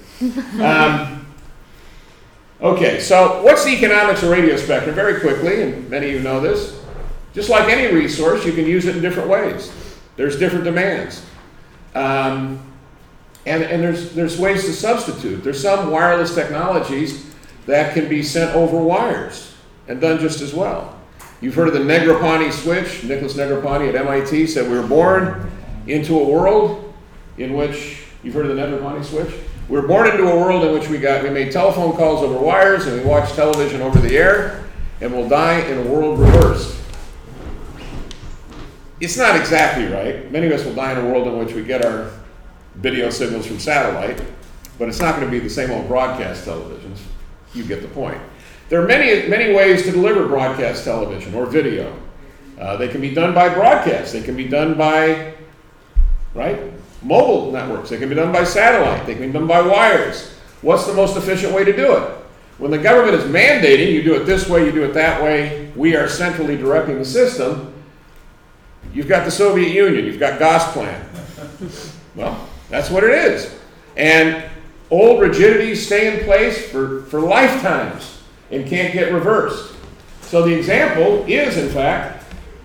Speaker 1: Okay, so what's the economics of radio spectrum? Very quickly, and many of you know this. Just like any resource, you can use it in different ways. There's different demands. And there's ways to substitute. There's some wireless technologies that can be sent over wires and done just as well. You've heard of the Negroponte switch. Nicholas Negroponte at MIT said we were born into a world in which, you've heard of the Negroponte switch? We were born into a world in which we made telephone calls over wires and we watched television over the air, and we'll die in a world reversed. It's not exactly right. Many of us will die in a world in which we get our video signals from satellite, but it's not going to be the same old broadcast televisions. You get the point. There are many ways to deliver broadcast television or video. They can be done by broadcast. They can be done by, mobile networks. They can be done by satellite. They can be done by wires. What's the most efficient way to do it? When the government is mandating you do it this way, you do it that way, we are centrally directing the system. You've got the Soviet Union. You've got Gosplan. Well, that's what it is. And old rigidities stay in place for lifetimes and can't get reversed. So the example is, in fact,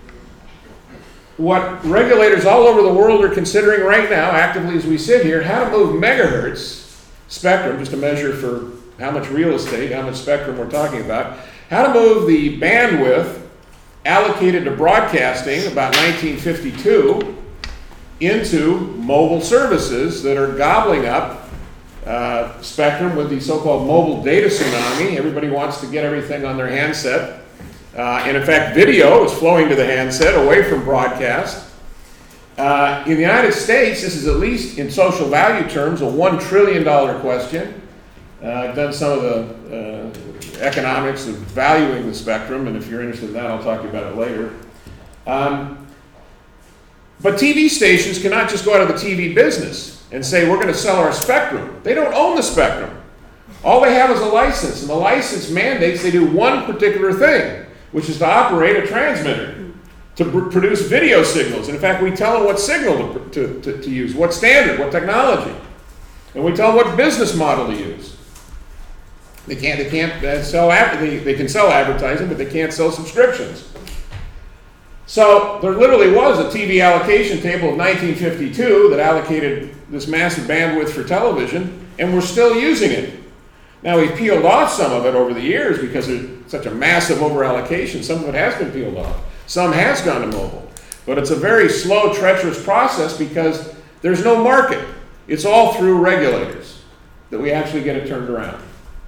Speaker 1: what regulators all over the world are considering right now, actively as we sit here, how to move megahertz spectrum, just a measure for how much real estate, how much spectrum we're talking about, how to move the bandwidth allocated to broadcasting about 1952 into mobile services that are gobbling up spectrum with the so-called mobile data tsunami. Everybody wants to get everything on their handset. And in fact, video is flowing to the handset away from broadcast. In the United States, this is, at least in social value terms, a $1 trillion question. I've done some of the economics of valuing the spectrum, and if you're interested in that, I'll talk to you about it later. But TV stations cannot just go out of the TV business and say, we're going to sell our spectrum. They don't own the spectrum. All they have is a license, and the license mandates they do one particular thing, which is to operate a transmitter, to produce video signals. And in fact, we tell them what signal to use, what standard, what technology. And we tell them what business model to use. They can sell advertising, but they can't sell subscriptions. So there literally was a TV allocation table of 1952 that allocated this massive bandwidth for television, and we're still using it. Now, we've peeled off some of it over the years because there's such a massive over-allocation. Some of it has been peeled off. Some has gone to mobile. But it's a very slow, treacherous process because there's no market. It's all through regulators that we actually get it turned around.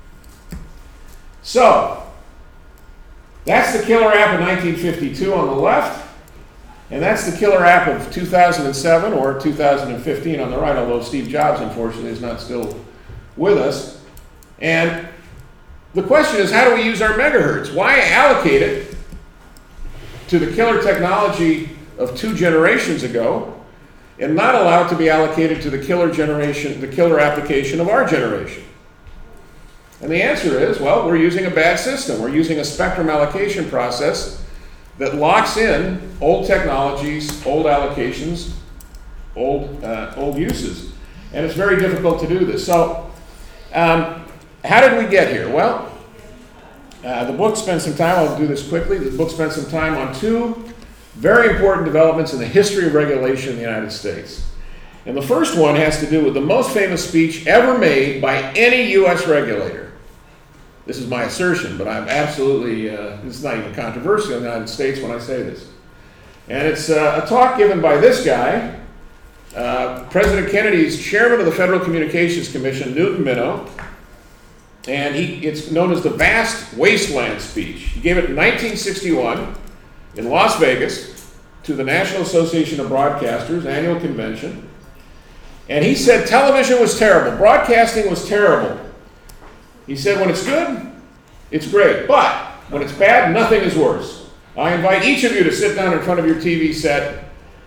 Speaker 1: So, that's the killer app of 1952 on the left, and that's the killer app of 2007 or 2015 on the right, although Steve Jobs, unfortunately, is not still with us. And the question is, how do we use our megahertz? Why allocate it to the killer technology of 2 generations ago and not allow it to be allocated to the killer application of our generation? And the answer is, well, we're using a bad system. We're using a spectrum allocation process that locks in old technologies, old allocations, old uses. And it's very difficult to do this. So, how did we get here? Well, the book spends some time, I'll do this quickly, the book spends some time on 2 very important developments in the history of regulation in the United States. And the first one has to do with the most famous speech ever made by any U.S. regulator. This is my assertion, but I'm absolutely, this is not even controversial in the United States when I say this. And it's a talk given by this guy, President Kennedy's chairman of the Federal Communications Commission, Newton Minow. And it's known as the Vast Wasteland speech. He gave it in 1961 in Las Vegas to the National Association of Broadcasters annual convention. And he said television was terrible, broadcasting was terrible. He said when it's good, it's great, but when it's bad, nothing is worse. I invite each of you to sit down in front of your TV set.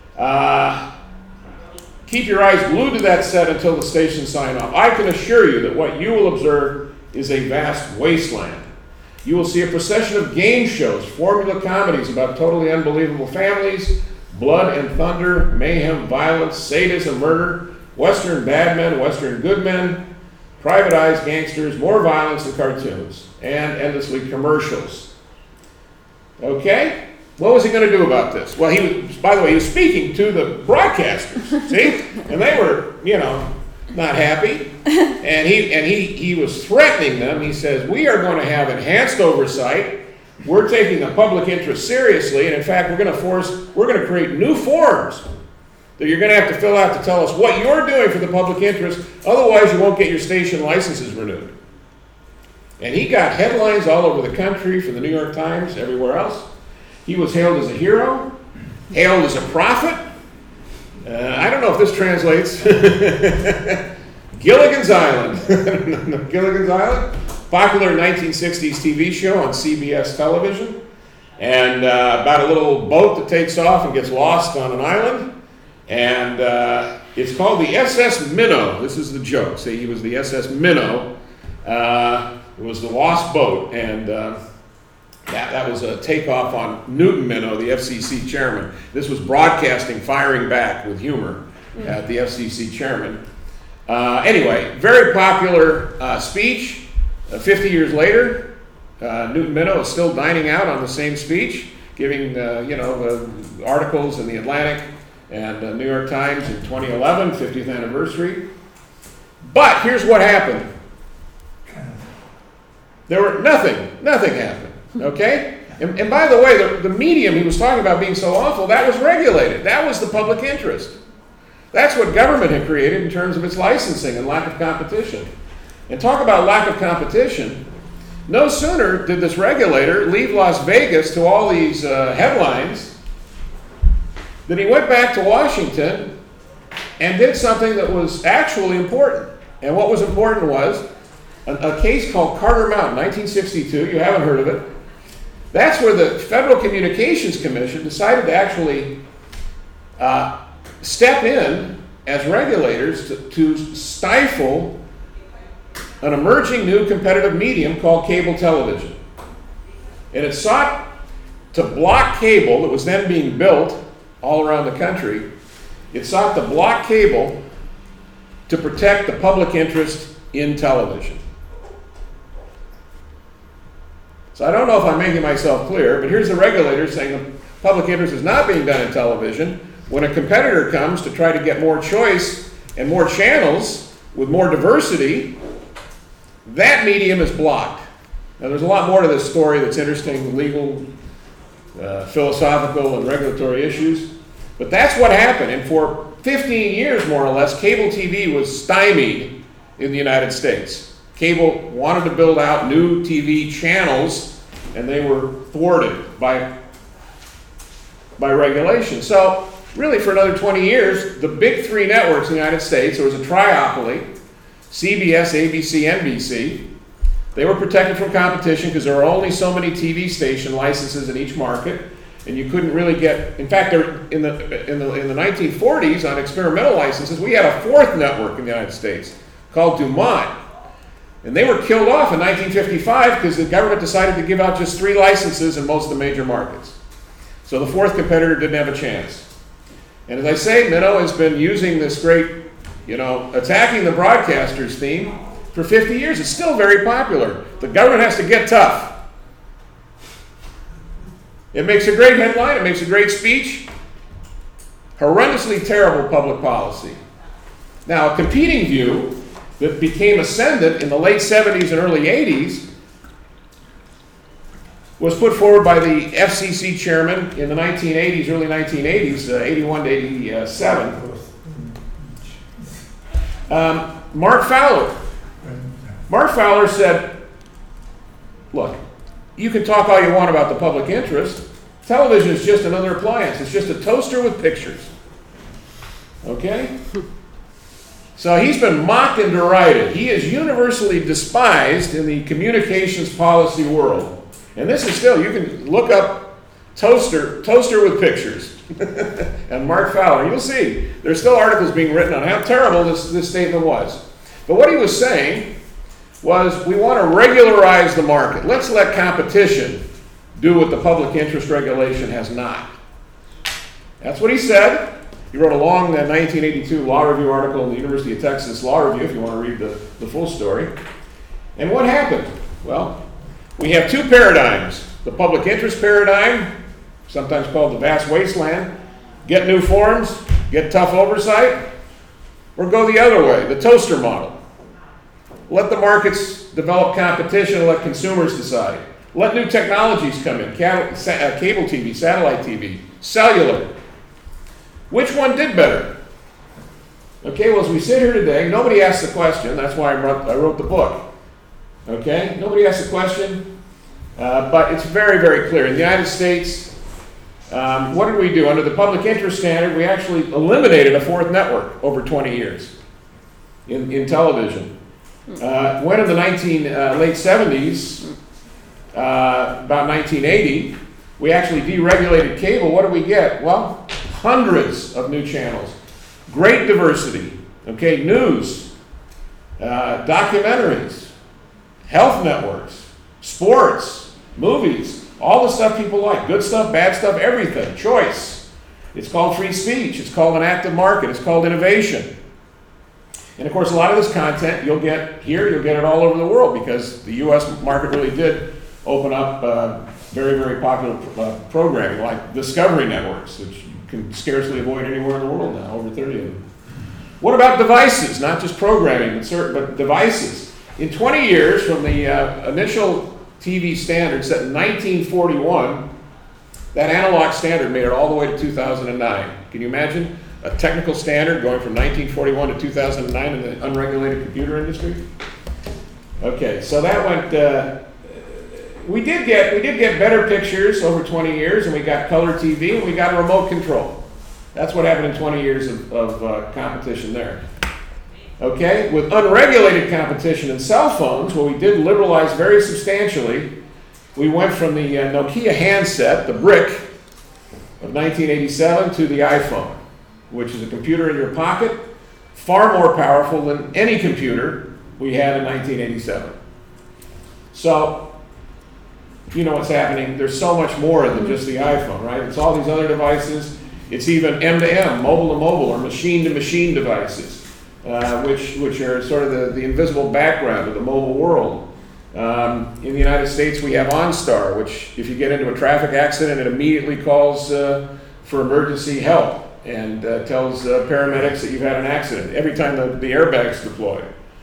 Speaker 1: Keep your eyes glued to that set until the stations sign off. I can assure you that what you will observe is a vast wasteland. You will see a procession of game shows, formula comedies about totally unbelievable families, blood and thunder, mayhem, violence, sadism, murder, Western bad men, Western good men, privatized gangsters, more violence than cartoons, and endlessly commercials. Okay? What was he going to do about this? Well, by the way, he was speaking to the broadcasters, see? And they were, not happy. And he was threatening them. He says, we are going to have enhanced oversight. We're taking the public interest seriously. And in fact, we're going to create new forms that you're going to have to fill out to tell us what you're doing for the public interest. Otherwise, you won't get your station licenses renewed. And he got headlines all over the country for the New York Times, everywhere else. He was hailed as a hero, hailed as a prophet. I don't know if this translates. Gilligan's Island. Gilligan's Island, popular 1960s TV show on CBS television. And about a little boat that takes off and gets lost on an island. And it's called the SS Minnow. This is the joke. See, he was the SS Minnow. It was the lost boat. And that was a takeoff on Newton Minow, the FCC chairman. This was broadcasting, firing back with humor at the FCC chairman. Anyway, very popular speech. 50 years later, Newton Minow is still dining out on the same speech, giving articles in the Atlantic and New York Times in 2011, 50th anniversary. But here's what happened. Nothing happened. Okay? And by the way, the medium he was talking about being so awful, that was regulated. That was the public interest. That's what government had created in terms of its licensing and lack of competition. And talk about lack of competition. No sooner did this regulator leave Las Vegas to all these headlines than he went back to Washington and did something that was actually important. And what was important was a case called Carter Mountain, 1962. You haven't heard of it. That's where the Federal Communications Commission decided to actually step in as regulators to stifle an emerging new competitive medium called cable television. And it sought to block cable that was then being built all around the country. It sought to block cable to protect the public interest in television. So I don't know if I'm making myself clear, but here's the regulator saying the public interest is not being done in television. When a competitor comes to try to get more choice and more channels with more diversity, that medium is blocked. Now there's a lot more to this story that's interesting, legal, philosophical, and regulatory issues. But that's what happened. And for 15 years, more or less, cable TV was stymied in the United States. Cable wanted to build out new TV channels, and they were thwarted by regulation. So really, for another 20 years, the big three networks in the United States, there was a triopoly, CBS, ABC, NBC. They were protected from competition because there were only so many TV station licenses in each market, and you couldn't really get. In fact, in the 1940s, on experimental licenses, we had a fourth network in the United States called Dumont. And they were killed off in 1955 because the government decided to give out just 3 licenses in most of the major markets. So the fourth competitor didn't have a chance. And as I say, Minow has been using this great, attacking the broadcasters theme for 50 years. It's still very popular. The government has to get tough. It makes a great headline. It makes a great speech. Horrendously terrible public policy. Now, a competing view that became ascendant in the late 70s and early 80s was put forward by the FCC chairman in the 1980s, early 1980s, 81 to 87. Mark Fowler. Mark Fowler said, look, you can talk all you want about the public interest. Television is just another appliance. It's just a toaster with pictures. Okay? So he's been mocked and derided. He is universally despised in the communications policy world. And this is still, you can look up toaster with pictures. And Mark Fowler, you'll see, there's still articles being written on how terrible this statement was. But what he was saying was, we want to regularize the market. Let's let competition do what the public interest regulation has not. That's what he said. He wrote a long 1982 Law Review article in the University of Texas Law Review, if you want to read the full story. And what happened? Well, we have two paradigms. The public interest paradigm, sometimes called the vast wasteland, get new forms, get tough oversight, or go the other way, the toaster model. Let the markets develop competition and let consumers decide. Let new technologies come in, cable TV, satellite TV, cellular. Which one did better? Okay, well, as we sit here today, nobody asked the question. That's why I wrote the book. Okay, nobody asked the question, but it's very, very clear. In the United States, what did we do? Under the public interest standard, we actually eliminated a fourth network over 20 years in television. When in the late 70s, about 1980, we actually deregulated cable. What did we get? Well, hundreds of new channels, great diversity, okay, news, documentaries, health networks, sports, movies, all the stuff people like, good stuff, bad stuff, everything, choice. It's called free speech. It's called an active market. It's called innovation. And of course, a lot of this content you'll get here, you'll get it all over the world, because the U.S. market really did open up very, very popular programming, like Discovery networks, which you can scarcely avoid anywhere in the world now, over 30 of them. What about devices? Not just programming, but devices. In 20 years, from the initial TV standard set in 1941, that analog standard made it all the way to 2009. Can you imagine a technical standard going from 1941 to 2009 in the unregulated computer industry? Okay, so that went. We did get better pictures over 20 years, and we got color TV, and we got remote control. That's what happened in 20 years of competition there. Okay, with unregulated competition in cell phones, what we did liberalize very substantially. We went from the Nokia handset, the brick, of 1987 to the iPhone, which is a computer in your pocket, far more powerful than any computer we had in 1987. So, you know what's happening. There's so much more than just the iPhone, right? It's all these other devices. It's even M2M, mobile to mobile, or machine to machine devices, which are sort of the invisible background of the mobile world. In the United States, we have OnStar, which if you get into a traffic accident, it immediately calls for emergency help and tells paramedics that you've had an accident every time the airbag's deployed.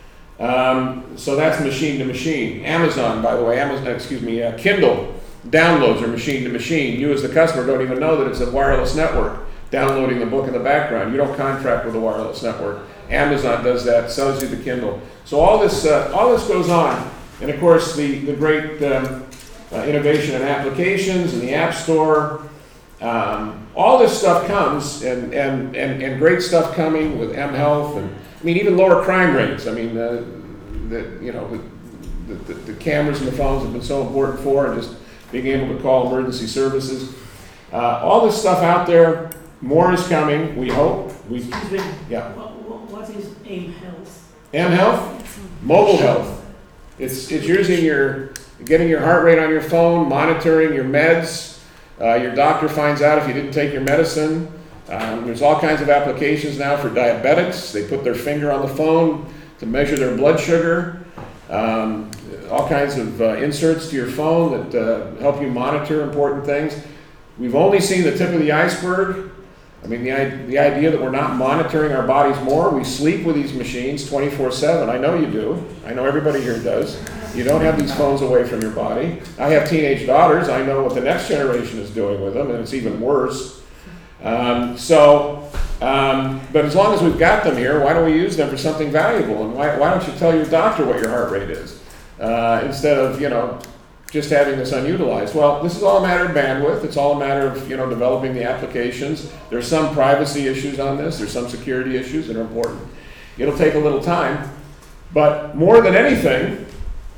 Speaker 1: So that's machine to machine. Amazon, by the way, Kindle downloads are machine to machine. You as the customer don't even know that it's a wireless network downloading the book in the background. You don't contract with a wireless network. Amazon does that, sells you the Kindle. So all this goes on. And of course, the great innovation in applications and the App Store, all this stuff comes, and great stuff coming with mHealth, and I mean even lower crime rates. I mean the cameras and the phones have been so important for, and just being able to call emergency services. All this stuff out there, more is coming. We hope.
Speaker 3: Excuse me.
Speaker 1: Yeah.
Speaker 3: What is mHealth?
Speaker 1: mHealth, mobile health. It's getting your heart rate on your phone, monitoring your meds. Your doctor finds out if you didn't take your medicine. There's all kinds of applications now for diabetics. They put their finger on the phone to measure their blood sugar. All kinds of inserts to your phone that help you monitor important things. We've only seen the tip of the iceberg. I mean, the idea that we're not monitoring our bodies more. We sleep with these machines 24/7. I know you do. I know everybody here does. You don't have these phones away from your body. I have teenage daughters. I know what the next generation is doing with them, and it's even worse. So But as long as we've got them here, why don't we use them for something valuable? And why don't you tell your doctor what your heart rate is instead of, just having this unutilized? Well, this is all a matter of bandwidth. It's all a matter of, developing the applications. There's some privacy issues on this. There's some security issues that are important. It'll take a little time. But more than anything,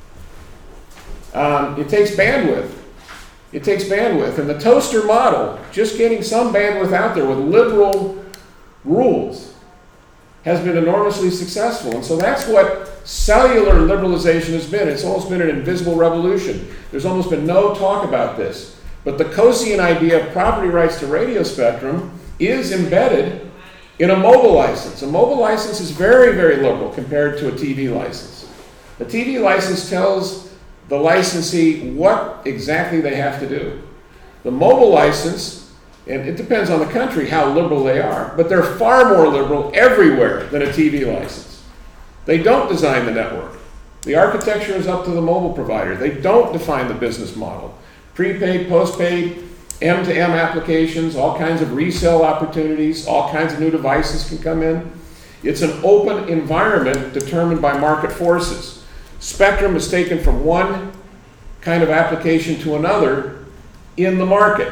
Speaker 1: it takes bandwidth. It takes bandwidth. And the toaster model, just getting some bandwidth out there with liberal rules, has been enormously successful. And so that's what cellular liberalization has been. It's almost been an invisible revolution. There's almost been no talk about this. But the Coasian idea of property rights to radio spectrum is embedded in a mobile license. A mobile license is very, very liberal compared to a TV license. The TV license tells the licensee what exactly they have to do. The mobile license, and it depends on the country how liberal they are, but they're far more liberal everywhere than a TV license. They don't design the network. The architecture is up to the mobile provider. They don't define the business model. Prepaid, postpaid, M2M applications, all kinds of resale opportunities, all kinds of new devices can come in. It's an open environment determined by market forces. Spectrum is taken from one kind of application to another in the market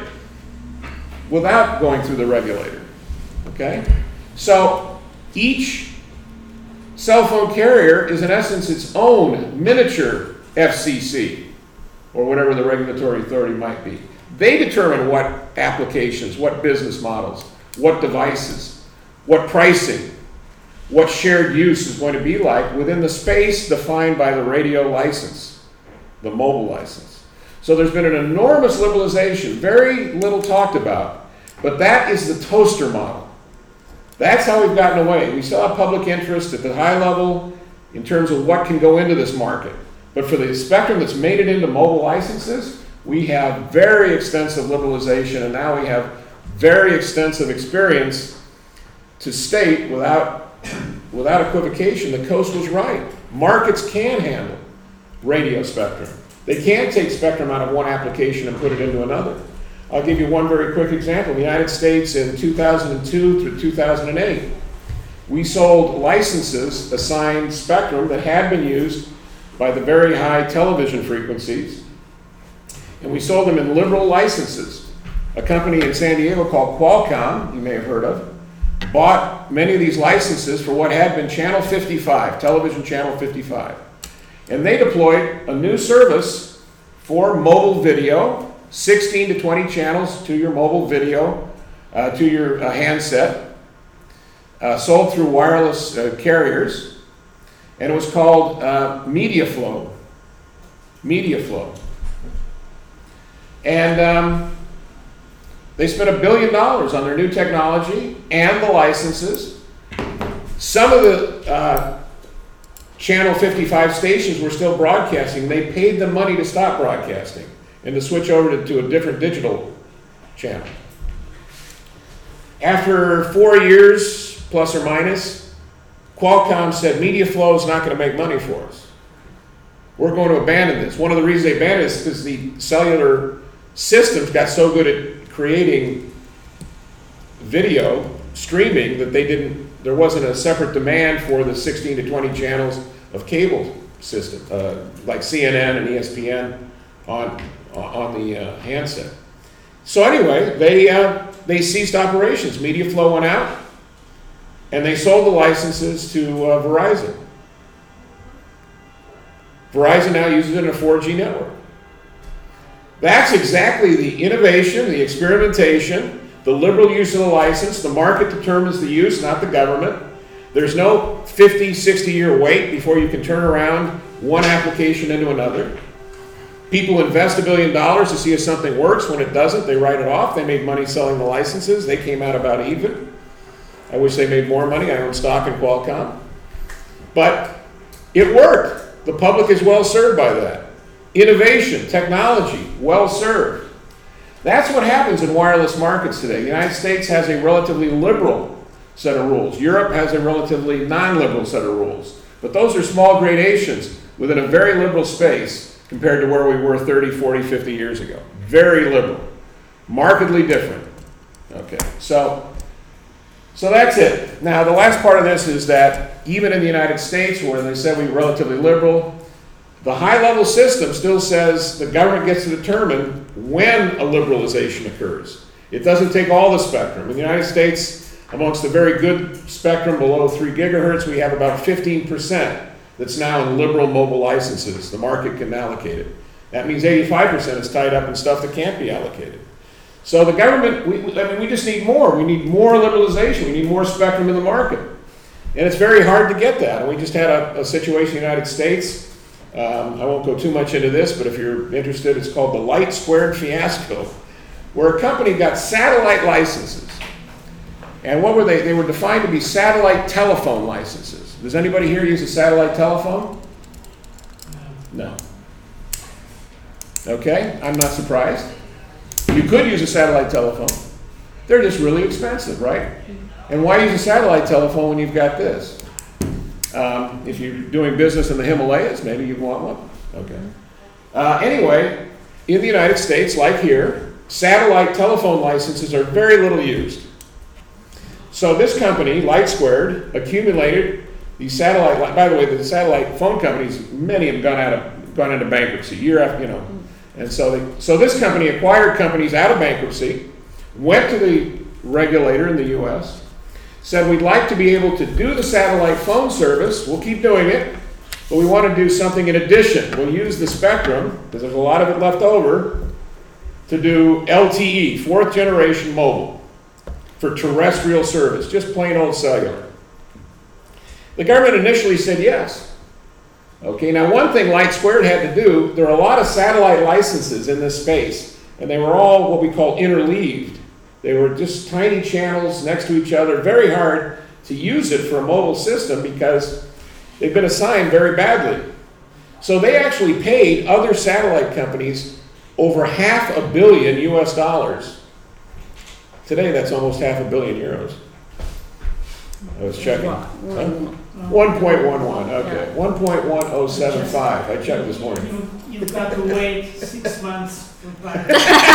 Speaker 1: without going through the regulator. Okay? So each cell phone carrier is in essence its own miniature FCC, or whatever the regulatory authority might be. They determine what applications, what business models, what devices, what pricing, what shared use is going to be like within the space defined by the radio license, the mobile license. So there's been an enormous liberalization, very little talked about, but that is the toaster model. That's how we've gotten away. We still have public interest at the high level in terms of what can go into this market. But for the spectrum that's made it into mobile licenses, we have very extensive liberalization, and now we have very extensive experience to state without equivocation the Coast was right. Markets can handle radio spectrum. They can take spectrum out of one application and put it into another. I'll give you one very quick example. In the United States in 2002 through 2008, we sold licenses assigned spectrum that had been used by the very high television frequencies, and we sold them in liberal licenses. A company in San Diego called Qualcomm, you may have heard of, bought many of these licenses for what had been Channel 55, television Channel 55. And they deployed a new service for mobile video, 16 to 20 channels to your mobile video, to your handset, sold through wireless carriers, and it was called MediaFlow. MediaFlow. And they spent $1 billion on their new technology and the licenses. Some of the Channel 55 stations were still broadcasting. They paid them money to stop broadcasting and to switch over to a different digital channel. After 4 years, plus or minus, Qualcomm said MediaFlow is not going to make money for us. We're going to abandon this. One of the reasons they abandoned it is because the cellular systems got so good at creating video streaming that there wasn't a separate demand for the 16 to 20 channels of cable system, like CNN and ESPN on the handset. So anyway, they ceased operations. MediaFlow went out, and they sold the licenses to Verizon. Verizon now uses it in a 4G network. That's exactly the innovation, the experimentation, the liberal use of the license. The market determines the use, not the government. There's no 50, 60-year wait before you can turn around one application into another. People invest $1 billion to see if something works. When it doesn't, they write it off. They made money selling the licenses. They came out about even. I wish they made more money. I own stock in Qualcomm. But it worked. The public is well served by that. Innovation, technology, well served. That's what happens in wireless markets today. The United States has a relatively liberal set of rules. Europe has a relatively non-liberal set of rules. But those are small gradations within a very liberal space compared to where we were 30, 40, 50 years ago. Very liberal. Markedly different. Okay, so So that's it. Now, the last part of this is that even in the United States, where they said we were relatively liberal, the high-level system still says the government gets to determine when a liberalization occurs. It doesn't take all the spectrum. In the United States, amongst the very good spectrum below 3 gigahertz, we have about 15% that's now in liberal mobile licenses. The market can allocate it. That means 85% is tied up in stuff that can't be allocated. So the government, we just need more. We need more liberalization. We need more spectrum in the market. And it's very hard to get that. And we just had a situation in the United States. I won't go too much into this, but if you're interested, it's called the Light Squared Fiasco, where a company got satellite licenses. And what were they? They were defined to be satellite telephone licenses. Does anybody here use a satellite telephone? No. Okay, I'm not surprised. You could use a satellite telephone. They're just really expensive, right? And why use a satellite telephone when you've got this? If you're doing business in the Himalayas, maybe you want one. Okay. Anyway, in the United States, like here, satellite telephone licenses are very little used. So this company, Light Squared, accumulated these satellite. By the way, the satellite phone companies, many of them gone into bankruptcy year after, you know. And so this company acquired companies out of bankruptcy, went to the regulator in the U.S., said we'd like to be able to do the satellite phone service. We'll keep doing it, but we want to do something in addition. We'll use the spectrum, because there's a lot of it left over, to do LTE, fourth generation mobile, for terrestrial service, just plain old cellular. The government initially said yes. Okay, now one thing Light Squared had to do, there are a lot of satellite licenses in this space, and they were all what we call interleaved. They were just tiny channels next to each other, very hard to use it for a mobile system because they've been assigned very badly. So they actually paid other satellite companies over $500 million US. Today that's almost €500 million. I was checking. 1.11, okay. 1.1075, I checked this morning.
Speaker 3: You've got to wait 6 months for that.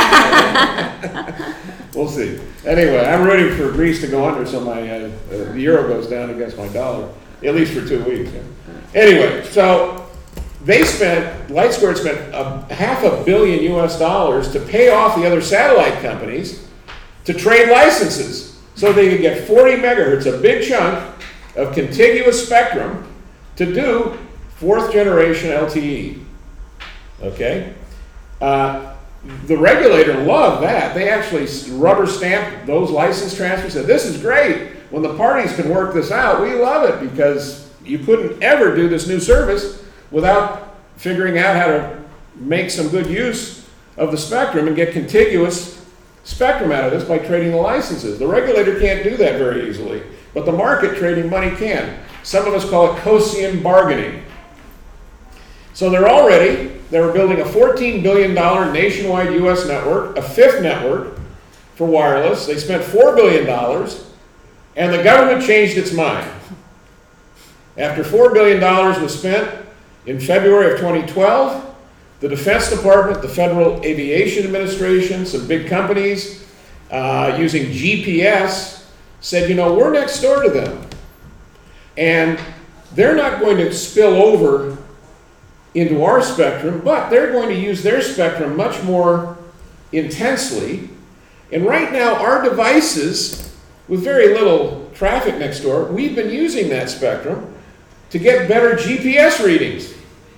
Speaker 1: We'll see. Anyway, I'm rooting for Greece to go under so the euro goes down against my dollar, at least for 2 weeks. Yeah. Anyway, so Light Squared spent $500 million US to pay off the other satellite companies to trade licenses so they could get 40 megahertz, a big chunk of contiguous spectrum, to do fourth generation LTE. Okay? The regulator loved that. They actually rubber stamped those license transfers, said this is great. When the parties can work this out, we love it because you couldn't ever do this new service without figuring out how to make some good use of the spectrum and get contiguous spectrum out of this by trading the licenses. The regulator can't do that very easily, but the market trading money can. Some of us call it Cosian bargaining. So they were building a $14 billion nationwide US network, a fifth network for wireless. They spent $4 billion, and the government changed its mind. After $4 billion was spent in February of 2012, the Defense Department, the Federal Aviation Administration, some big companies using GPS said, you know, we're next door to them. And they're not going to spill over into our spectrum, but they're going to use their spectrum much more intensely. And right now, our devices, with very little traffic next door, we've been using that spectrum to get better GPS readings.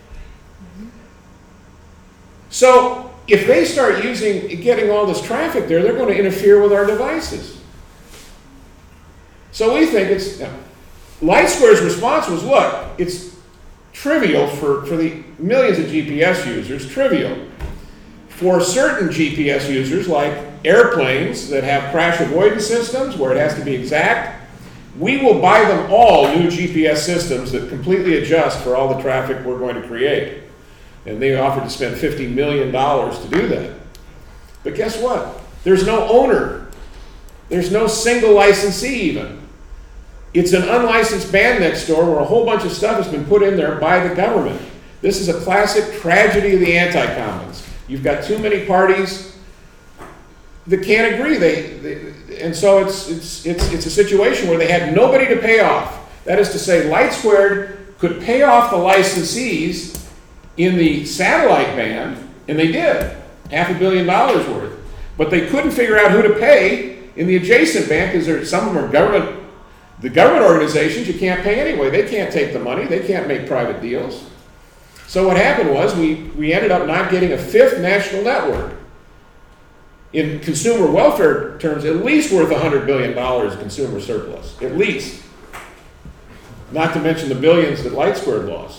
Speaker 1: So if they start getting all this traffic there, they're going to interfere with our devices. So we think Light Squared's response was, look, it's trivial for the millions of GPS users, trivial. For certain GPS users, like airplanes that have crash avoidance systems where it has to be exact, we will buy them all new GPS systems that completely adjust for all the traffic we're going to create. And they offered to spend $50 million to do that. But guess what? There's no owner. There's no single licensee even. It's an unlicensed band next door where a whole bunch of stuff has been put in there by the government. This is a classic tragedy of the anti-commons. You've got too many parties that can't agree. and so it's a situation where they had nobody to pay off. That is to say, LightSquared could pay off the licensees in the satellite band, and they did, $500 million worth. But they couldn't figure out who to pay in the adjacent band because some of them are the government organizations you can't pay anyway. They can't take the money. They can't make private deals. So what happened was we ended up not getting a fifth national network. In consumer welfare terms, at least worth $100 billion consumer surplus, at least. Not to mention the billions that LightSquared lost.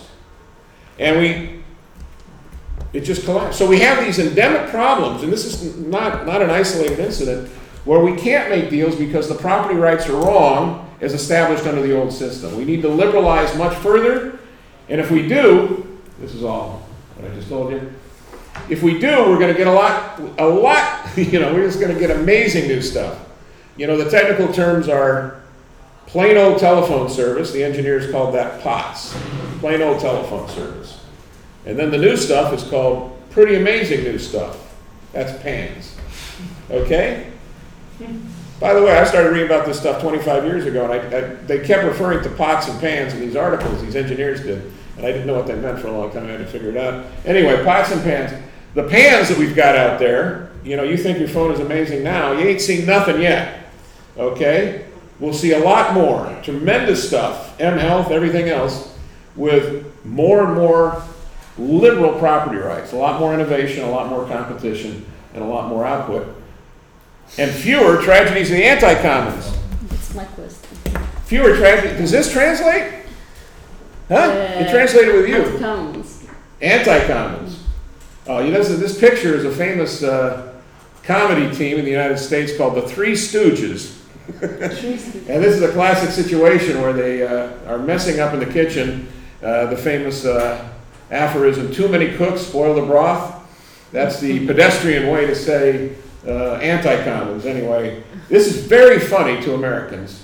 Speaker 1: And it just collapsed. So we have these endemic problems, and this is not an isolated incident, where we can't make deals because the property rights are wrong as established under the old system. We need to liberalize much further, and if we do, this is all what I just told you. If we do, we're going to get a lot, we're just going to get amazing new stuff. The technical terms are plain old telephone service. The engineers called that POTS, plain old telephone service. And then the new stuff is called pretty amazing new stuff. That's PANS. Okay? By the way, I started reading about this stuff 25 years ago, and they kept referring to POTS and PANS in these articles, these engineers did. And I didn't know what they meant for a long time. I had to figure it out. Anyway, POTS and PANS. The PANS that we've got out there, you think your phone is amazing now. You ain't seen nothing yet. Okay? We'll see a lot more. Tremendous stuff. mHealth, everything else, with more and more liberal property rights. A lot more innovation, a lot more competition, and a lot more output. And fewer tragedies of the anti-commons.
Speaker 2: That's my question.
Speaker 1: Fewer tragedies. Does this translate? Huh? It translated with you.
Speaker 2: Anti-commons.
Speaker 1: Anti-commons. Oh, this picture is a famous comedy team in the United States called the Three Stooges. And this is a classic situation where they are messing up in the kitchen. The famous aphorism, too many cooks spoil the broth. That's the pedestrian way to say anti-commons. Anyway, this is very funny to Americans.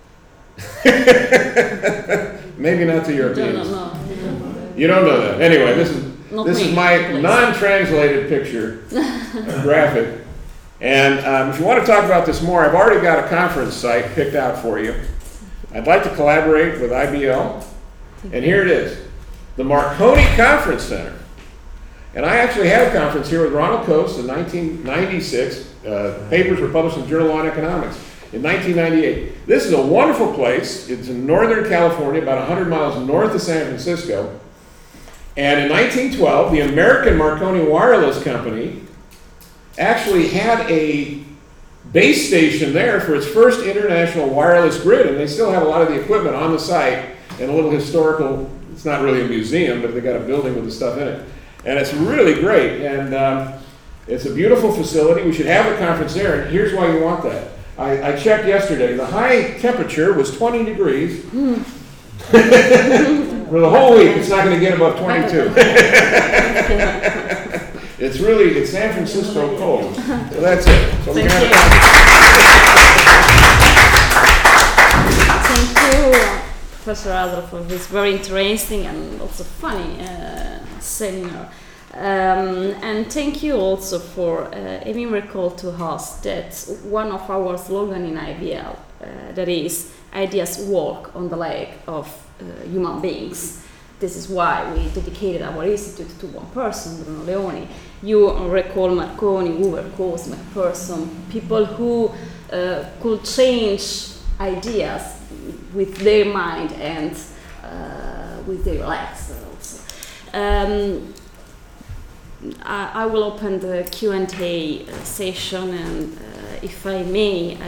Speaker 1: Maybe not to Europeans. You don't know that. Anyway, this is my non-translated picture, graphic. And if you want to talk about this more, I've already got a conference site picked out for you. I'd like to collaborate with IBL. And here it is, the Marconi Conference Center. And I actually had a conference here with Ronald Coase in 1996. Papers were published in the Journal of Law and Economics in 1998. This is a wonderful place. It's in Northern California, about 100 miles north of San Francisco. And in 1912, the American Marconi Wireless Company actually had a base station there for its first international wireless grid, and they still have a lot of the equipment on the site and a little historical, it's not really a museum, but they got a building with the stuff in it. And it's really great, and it's a beautiful facility. We should have a conference there, and here's why you want that. I checked yesterday. The high temperature was 20 degrees. For the whole week, it's not going to get above 22. It's San Francisco cold. So that's it. So
Speaker 2: Thank you, Professor Adler, for this very interesting and also funny seminar. And thank you also for having recalled to us that one of our slogans in IBL, that is, ideas walk on the leg of human beings. This is why we dedicated our institute to one person, Bruno Leoni. You recall Marconi, Hoover, Coase, McPherson, people who could change ideas with their mind and with their legs also. I will open the Q&A session, and if I may,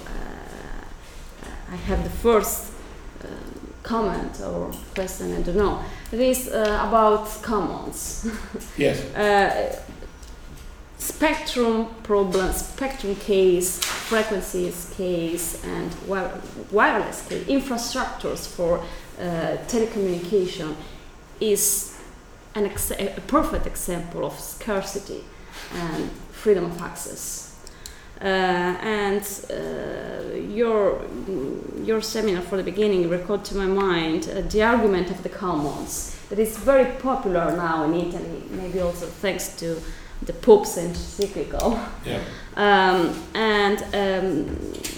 Speaker 2: I have the first comment or question, I don't know. It is about commons.
Speaker 1: Yes.
Speaker 2: Spectrum problems, spectrum case, frequencies case, and wireless case, infrastructures for telecommunication is a perfect example of scarcity and freedom of access. Your seminar for the beginning recalled to my mind the argument of the commons that is very popular now in Italy, maybe also thanks to the Pope's encyclical.
Speaker 1: Yeah.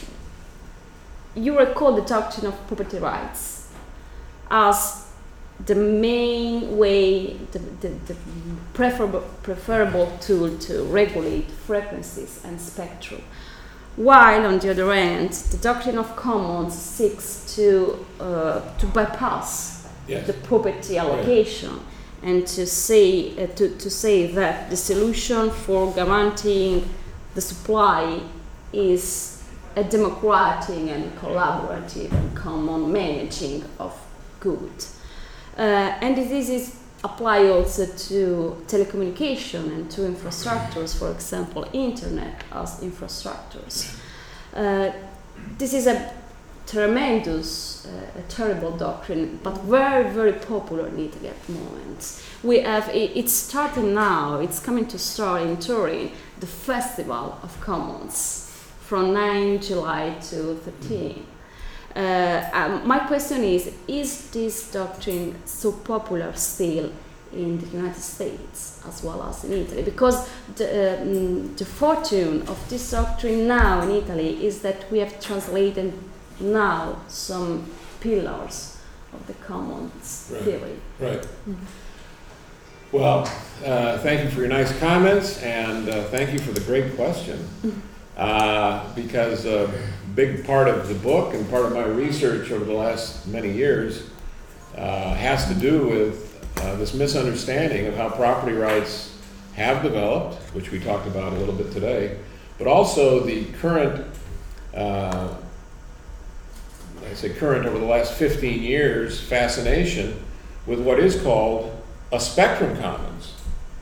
Speaker 2: you recall the doctrine of property rights as the main way, the preferable tool to regulate frequencies and spectrum. While, on the other hand, the doctrine of commons seeks to bypass the property allocation and to say that the solution for guaranteeing the supply is a democratic and collaborative and common managing of goods. And this is apply also to telecommunication and to infrastructures, for example, internet as infrastructures. This is a tremendous, a terrible doctrine, but very, very popular in Italy at the moment. We have, it's starting now, it's coming to start in Turin, the Festival of Commons from 9 July to 13. My question is this doctrine so popular still in the United States as well as in Italy? Because the fortune of this doctrine now in Italy is that we have translated now some pillars of the commons theory.
Speaker 1: Right. Mm-hmm. Well, thank you for your nice comments, and thank you for the great question. Because a big part of the book and part of my research over the last many years has to do with this misunderstanding of how property rights have developed, which we talked about a little bit today, but also the current, I say current over the last 15 years, fascination with what is called a spectrum commons.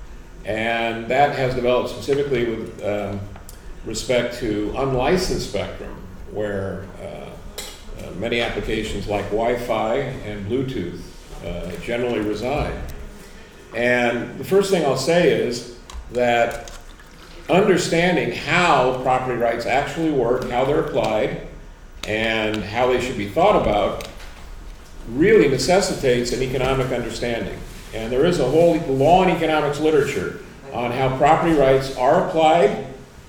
Speaker 1: And that has developed specifically with respect to unlicensed spectrum, where many applications like Wi-Fi and Bluetooth generally reside. And the first thing I'll say is that understanding how property rights actually work, how they're applied, and how they should be thought about really necessitates an economic understanding. And there is a whole law and economics literature on how property rights are applied,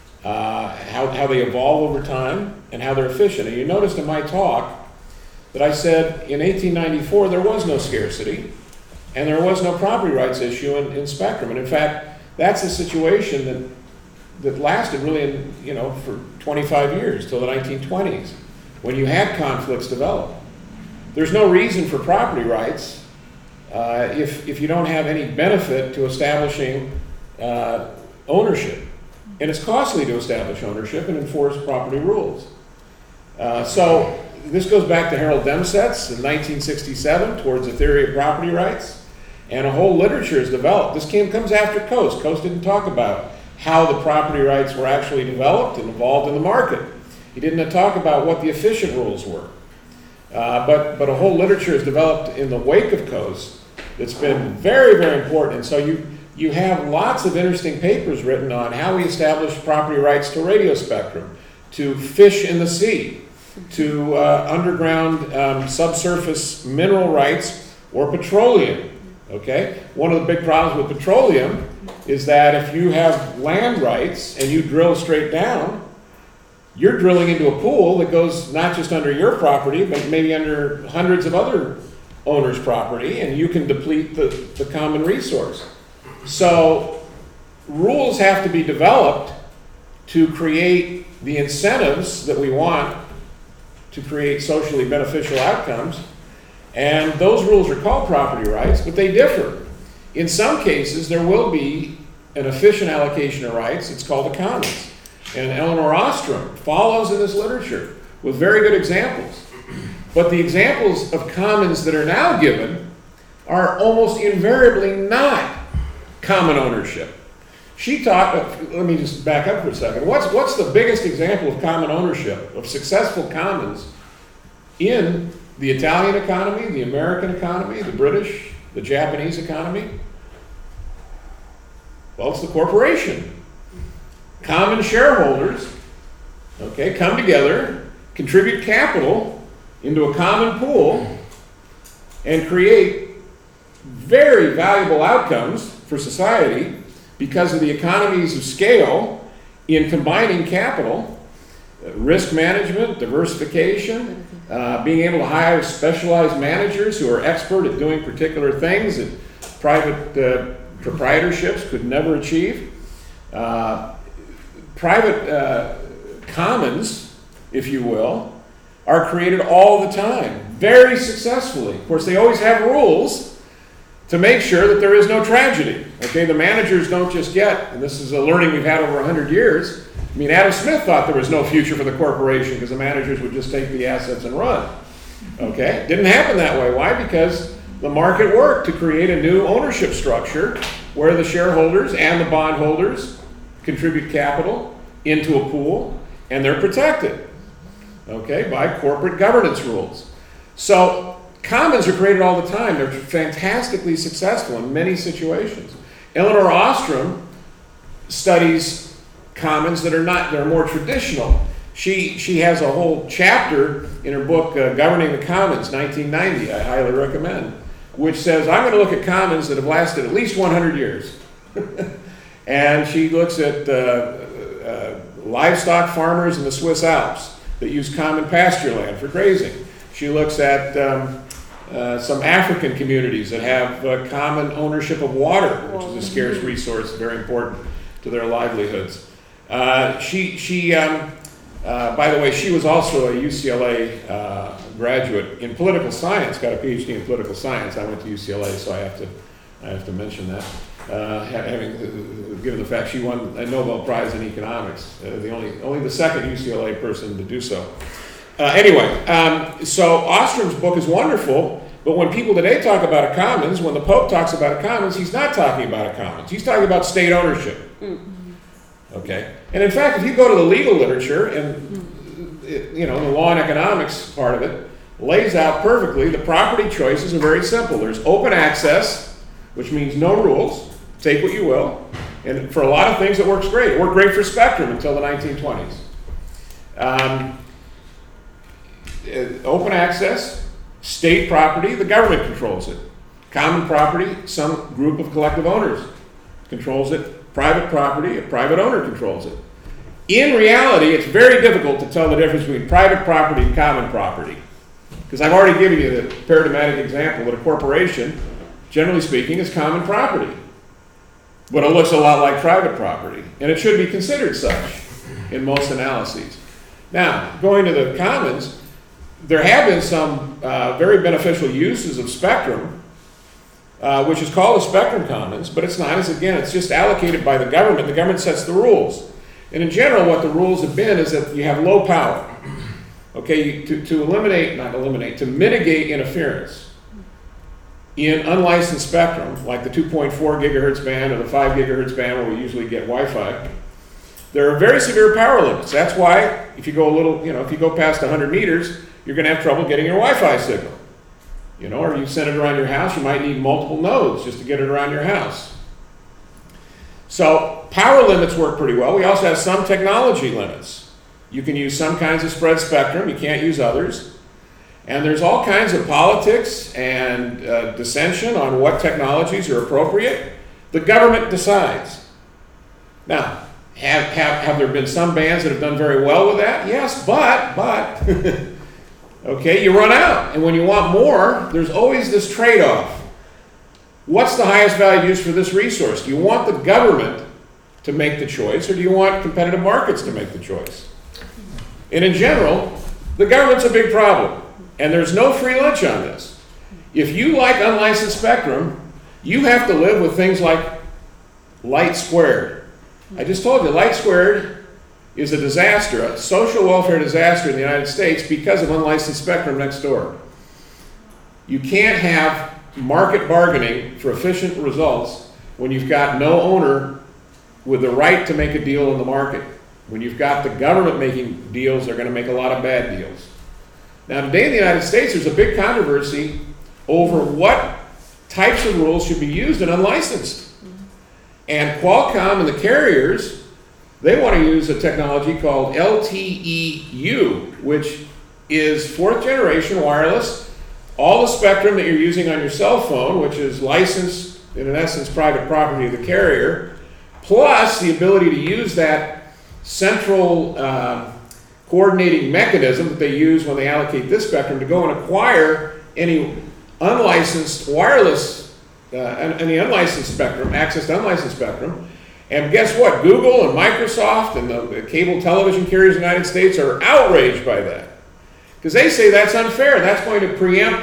Speaker 1: how they evolve over time, and how they're efficient. And you noticed in my talk that I said in 1894 there was no scarcity, and there was no property rights issue in spectrum. And in fact, that's a situation that lasted really, for 25 years, till the 1920s, when you had conflicts develop. There's no reason for property rights if you don't have any benefit to establishing ownership. And it's costly to establish ownership and enforce property rules. So this goes back to Harold Demsetz in 1967 towards the theory of property rights, and a whole literature is developed. This comes after Coase. Coase didn't talk about how the property rights were actually developed and evolved in the market. He didn't talk about what the efficient rules were. But a whole literature is developed in the wake of Coase that's been very, very important. And so you have lots of interesting papers written on how we establish property rights to radio spectrum, to fish in the sea, to underground subsurface mineral rights or petroleum. Okay? One of the big problems with petroleum is that if you have land rights and you drill straight down, you're drilling into a pool that goes not just under your property, but maybe under hundreds of other owners' property, and you can deplete the common resource. So rules have to be developed to create the incentives that we want to create socially beneficial outcomes. And those rules are called property rights, but they differ. In some cases, there will be an efficient allocation of rights. It's called a commons. And Elinor Ostrom follows in this literature with very good examples. But the examples of commons that are now given are almost invariably not common ownership. She taught, let me just back up for a second. What's the biggest example of common ownership, of successful commons in the Italian economy, the American economy, the British, the Japanese economy? Well, it's the corporation. Common shareholders, okay, come together, contribute capital into a common pool, and create very valuable outcomes for society because of the economies of scale in combining capital risk management, diversification, being able to hire specialized managers who are expert at doing particular things that private proprietorships could never achieve. Private commons, if you will, are created all the time, very successfully. Of course, they always have rules to make sure that there is no tragedy. Okay, the managers don't just get, and this is a learning we've had over 100 years. I mean, Adam Smith thought there was no future for the corporation because the managers would just take the assets and run. Okay, didn't happen that way. Why? Because the market worked to create a new ownership structure where the shareholders and the bondholders contribute capital into a pool, and they're protected, okay, by corporate governance rules. So commons are created all the time. They're fantastically successful in many situations. Elinor Ostrom studies commons that are more traditional. She has a whole chapter in her book, Governing the Commons, 1990, I highly recommend, which says, I'm going to look at commons that have lasted at least 100 years. And she looks at livestock farmers in the Swiss Alps that use common pasture land for grazing. She looks at some African communities that have common ownership of water, which is a scarce resource, very important to their livelihoods. By the way, she was also a UCLA graduate in political science, got a PhD in political science. I went to UCLA, so I have to mention that. Given the fact she won a Nobel Prize in economics, only the second UCLA person to do so. So Ostrom's book is wonderful, but when people today talk about a commons, when the Pope talks about a commons, he's not talking about a commons. He's talking about state ownership. Okay, and in fact, if you go to the legal literature, and the law and economics part of it lays out perfectly, the property choices are very simple. There's open access, which means no rules, take what you will, and for a lot of things it works great. It worked great for Spectrum until the 1920s. Open access, state property, the government controls it. Common property, some group of collective owners controls it. Private property, a private owner controls it. In reality, it's very difficult to tell the difference between private property and common property. Because I've already given you the paradigmatic example that a corporation, generally speaking, is common property. But it looks a lot like private property. And it should be considered such in most analyses. Now, going to the commons, there have been some very beneficial uses of spectrum, which is called a spectrum commons, but it's not. It's just allocated by the government. The government sets the rules. And in general, what the rules have been is that you have low power. Okay, to mitigate interference in unlicensed spectrum, like the 2.4 gigahertz band or the 5 gigahertz band where we usually get Wi-Fi, there are very severe power limits. That's why if you go if you go past 100 meters, you're going to have trouble getting your Wi-Fi signal. Or you send it around your house, you might need multiple nodes just to get it around your house. So power limits work pretty well. We also have some technology limits. You can use some kinds of spread spectrum, you can't use others. And there's all kinds of politics and dissension on what technologies are appropriate. The government decides. Now, have there been some bands that have done very well with that? Yes, but okay, you run out. And when you want more, there's always this trade-off. What's the highest value use for this resource? Do you want the government to make the choice, or do you want competitive markets to make the choice? And in general, the government's a big problem. And there's no free lunch on this. If you like unlicensed spectrum, you have to live with things like light squared. I just told you, light squared is a disaster, a social welfare disaster in the United States because of unlicensed spectrum next door. You can't have market bargaining for efficient results when you've got no owner with the right to make a deal in the market. When you've got the government making deals, they're going to make a lot of bad deals. Now, today in the United States, there's a big controversy over what types of rules should be used in unlicensed. And Qualcomm and the carriers, they want to use a technology called LTE-U, which is fourth generation wireless. All the spectrum that you're using on your cell phone, which is licensed, in essence, private property of the carrier, plus the ability to use that central coordinating mechanism that they use when they allocate this spectrum to go and acquire any unlicensed wireless, any unlicensed spectrum, access to unlicensed spectrum. And guess what? Google and Microsoft and the cable television carriers in the United States are outraged by that. Because they say that's unfair. That's going to preempt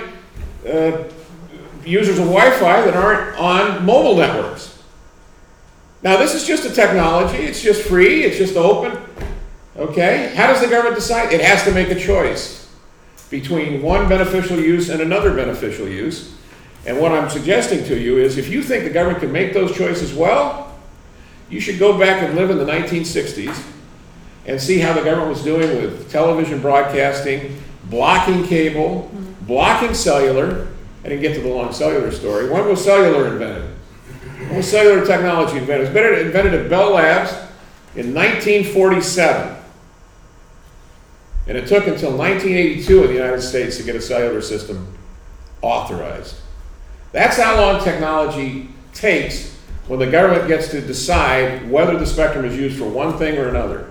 Speaker 1: users of Wi-Fi that aren't on mobile networks. Now, this is just a technology. It's just free. It's just open. Okay? How does the government decide? It has to make a choice between one beneficial use and another beneficial use. And what I'm suggesting to you is if you think the government can make those choices well, you should go back and live in the 1960s and see how the government was doing with television broadcasting, blocking cable, blocking cellular. I didn't get to the long cellular story. When was cellular invented? When was cellular technology invented? It was invented at Bell Labs in 1947. And it took until 1982 in the United States to get a cellular system authorized. That's how long technology takes when the government gets to decide whether the spectrum is used for one thing or another.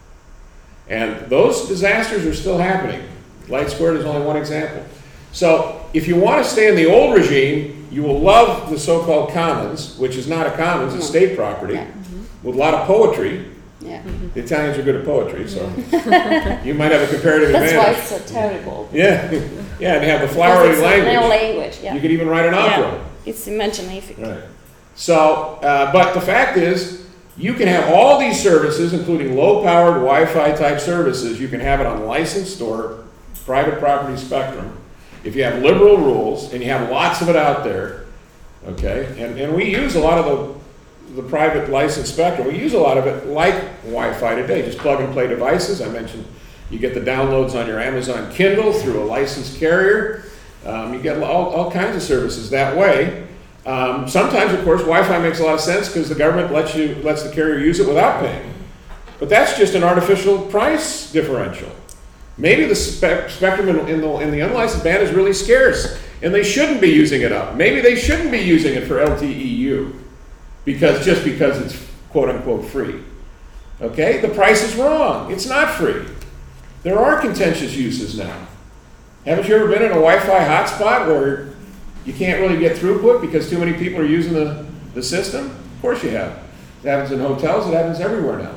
Speaker 1: And those disasters are still happening. Light Squared is only one example. So if you want to stay in the old regime, you will love the so-called commons, which is not a commons, it's state property, with a lot of poetry.
Speaker 2: Yeah.
Speaker 1: The Italians are good at poetry, so you might have a comparative
Speaker 2: That's
Speaker 1: advantage.
Speaker 2: why it's so terrible.
Speaker 1: Yeah, yeah, and they have the flowery
Speaker 2: Because it's
Speaker 1: language.
Speaker 2: a language, yeah.
Speaker 1: You could even write an opera.
Speaker 2: Yeah. It's imaginative.
Speaker 1: Right. So, but the fact is, you can have all these services, including low-powered Wi-Fi type services. You can have it on licensed or private property spectrum. If you have liberal rules, and you have lots of it out there, okay? And we use a lot of the private licensed spectrum. We use a lot of it like Wi-Fi today, just plug and play devices. I mentioned you get the downloads on your Amazon Kindle through a licensed carrier. You get all kinds of services that way. Sometimes, of course, Wi-Fi makes a lot of sense because the government lets the carrier use it without paying. But that's just an artificial price differential. Maybe the spectrum in the unlicensed band is really scarce, and they shouldn't be using it up. Maybe they shouldn't be using it for LTE-U, because it's quote-unquote free. Okay? The price is wrong. It's not free. There are contentious uses now. Haven't you ever been in a Wi-Fi hotspot where you can't really get throughput because too many people are using the system? Of course you have. It happens in hotels. It happens everywhere now.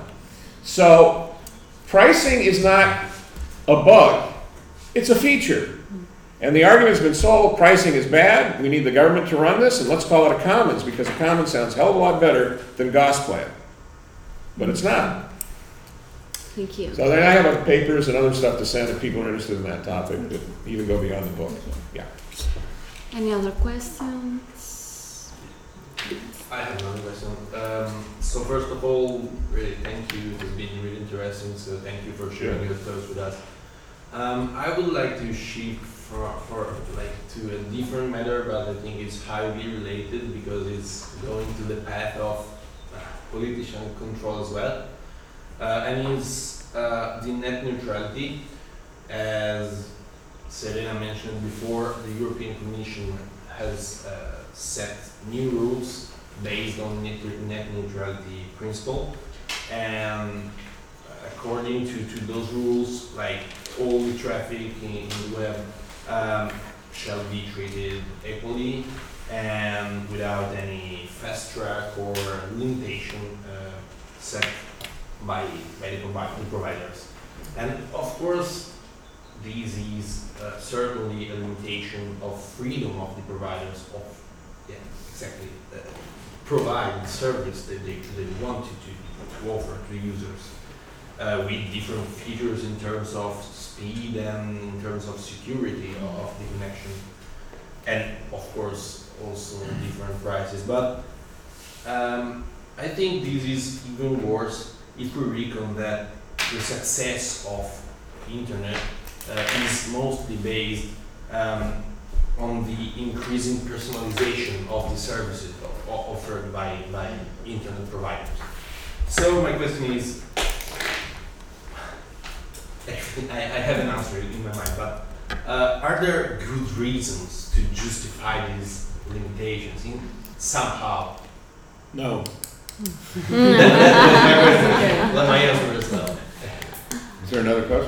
Speaker 1: So pricing is not a bug. It's a feature. And the argument's been sold, pricing is bad, we need the government to run this, and let's call it a commons, because a commons sounds a hell of a lot better than Gosplan. But it's not.
Speaker 2: Thank you.
Speaker 1: So then I have papers and other stuff to send if people are interested in that topic that even go beyond the book. So, yeah.
Speaker 2: Any other questions?
Speaker 4: I have another question. So first of all, really thank you. It's been really interesting. So thank you for sharing your thoughts with us. I would like to shift to a different matter, but I think it's highly related because it's going to the path of politician control as well. And it's the net neutrality. As Serena mentioned before, the European Commission has set new rules based on net neutrality principle, and according to those rules, like all the traffic in the web shall be treated equally and without any fast track or limitation set by the providers. And of course, this is certainly a limitation of freedom of the providers of provide the service that they want to offer to users with different features in terms of speed and in terms of security of the connection, and of course also different prices. But I think this is even worse if we reckon that the success of internet is mostly based on the increasing personalization of the services offered by internet providers. So my question is, actually I have an answer in my mind, but are there good reasons to justify these limitations somehow?
Speaker 1: No.
Speaker 4: Let my answer as well.
Speaker 1: Is there another question?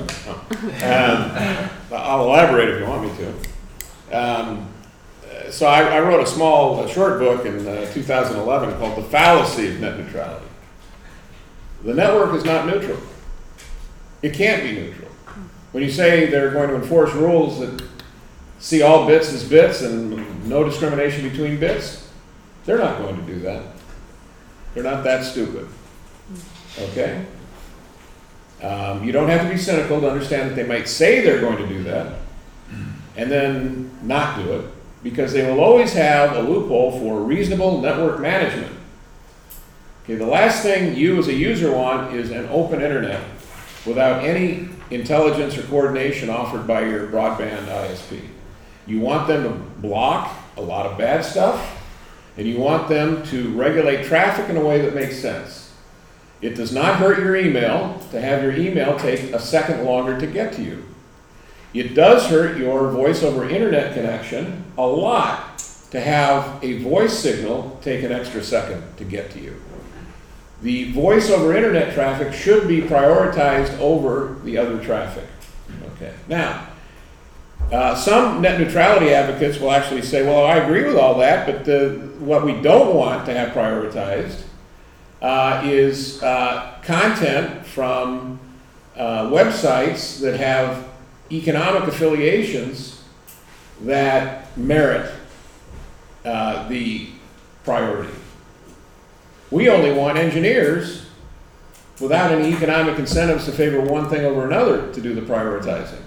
Speaker 1: I'll elaborate if you want me to. So I wrote a small, short book in 2011 called The Fallacy of Net Neutrality. The network is not neutral. It can't be neutral. When you say they're going to enforce rules that see all bits as bits and no discrimination between bits, they're not going to do that. They're not that stupid. Okay? You don't have to be cynical to understand that they might say they're going to do that and then not do it, because they will always have a loophole for reasonable network management. Okay, the last thing you as a user want is an open internet without any intelligence or coordination offered by your broadband ISP. You want them to block a lot of bad stuff, and you want them to regulate traffic in a way that makes sense. It does not hurt your email to have your email take a second longer to get to you. It does hurt your voice over internet connection a lot to have a voice signal take an extra second to get to you. The voice over internet traffic should be prioritized over the other traffic. Okay. Now, some net neutrality advocates will actually say, well, I agree with all that, but what we don't want to have prioritized is content from websites that have economic affiliations that merit the priority. We only want engineers without any economic incentives to favor one thing over another to do the prioritizing.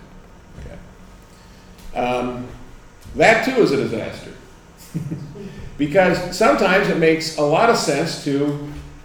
Speaker 1: Okay. That too is a disaster. Because sometimes it makes a lot of sense to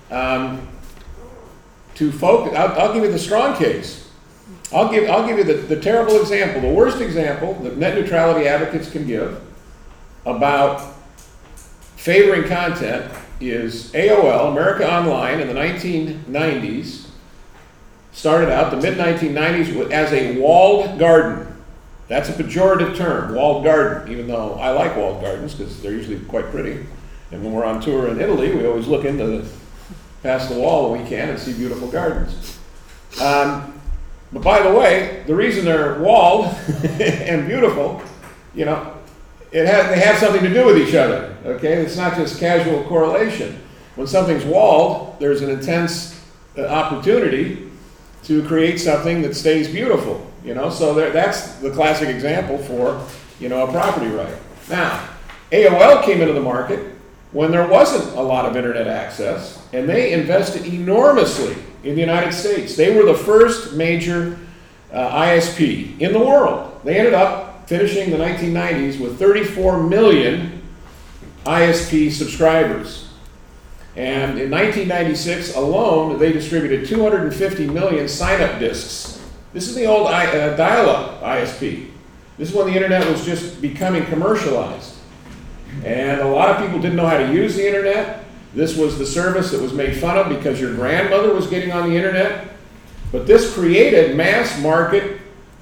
Speaker 1: focus. I'll give you the strong case. I'll give you the terrible example, the worst example that net neutrality advocates can give about favoring content is AOL, America Online, in the 1990s, started out, the mid-1990s, as a walled garden. That's a pejorative term, walled garden, even though I like walled gardens because they're usually quite pretty. And when we're on tour in Italy, we always look past the wall when we can and see beautiful gardens. But by the way, the reason they're walled and beautiful, they have something to do with each other, okay? It's not just casual correlation. When something's walled, there's an intense opportunity to create something that stays beautiful, So that's the classic example for, a property right. Now, AOL came into the market when there wasn't a lot of internet access, and they invested enormously in the United States. They were the first major ISP in the world. They ended up finishing the 1990s with 34 million ISP subscribers. And in 1996 alone, they distributed 250 million sign-up disks. This is the old dial-up ISP. This is when the internet was just becoming commercialized. And a lot of people didn't know how to use the internet. This was the service that was made fun of because your grandmother was getting on the internet. But this created mass market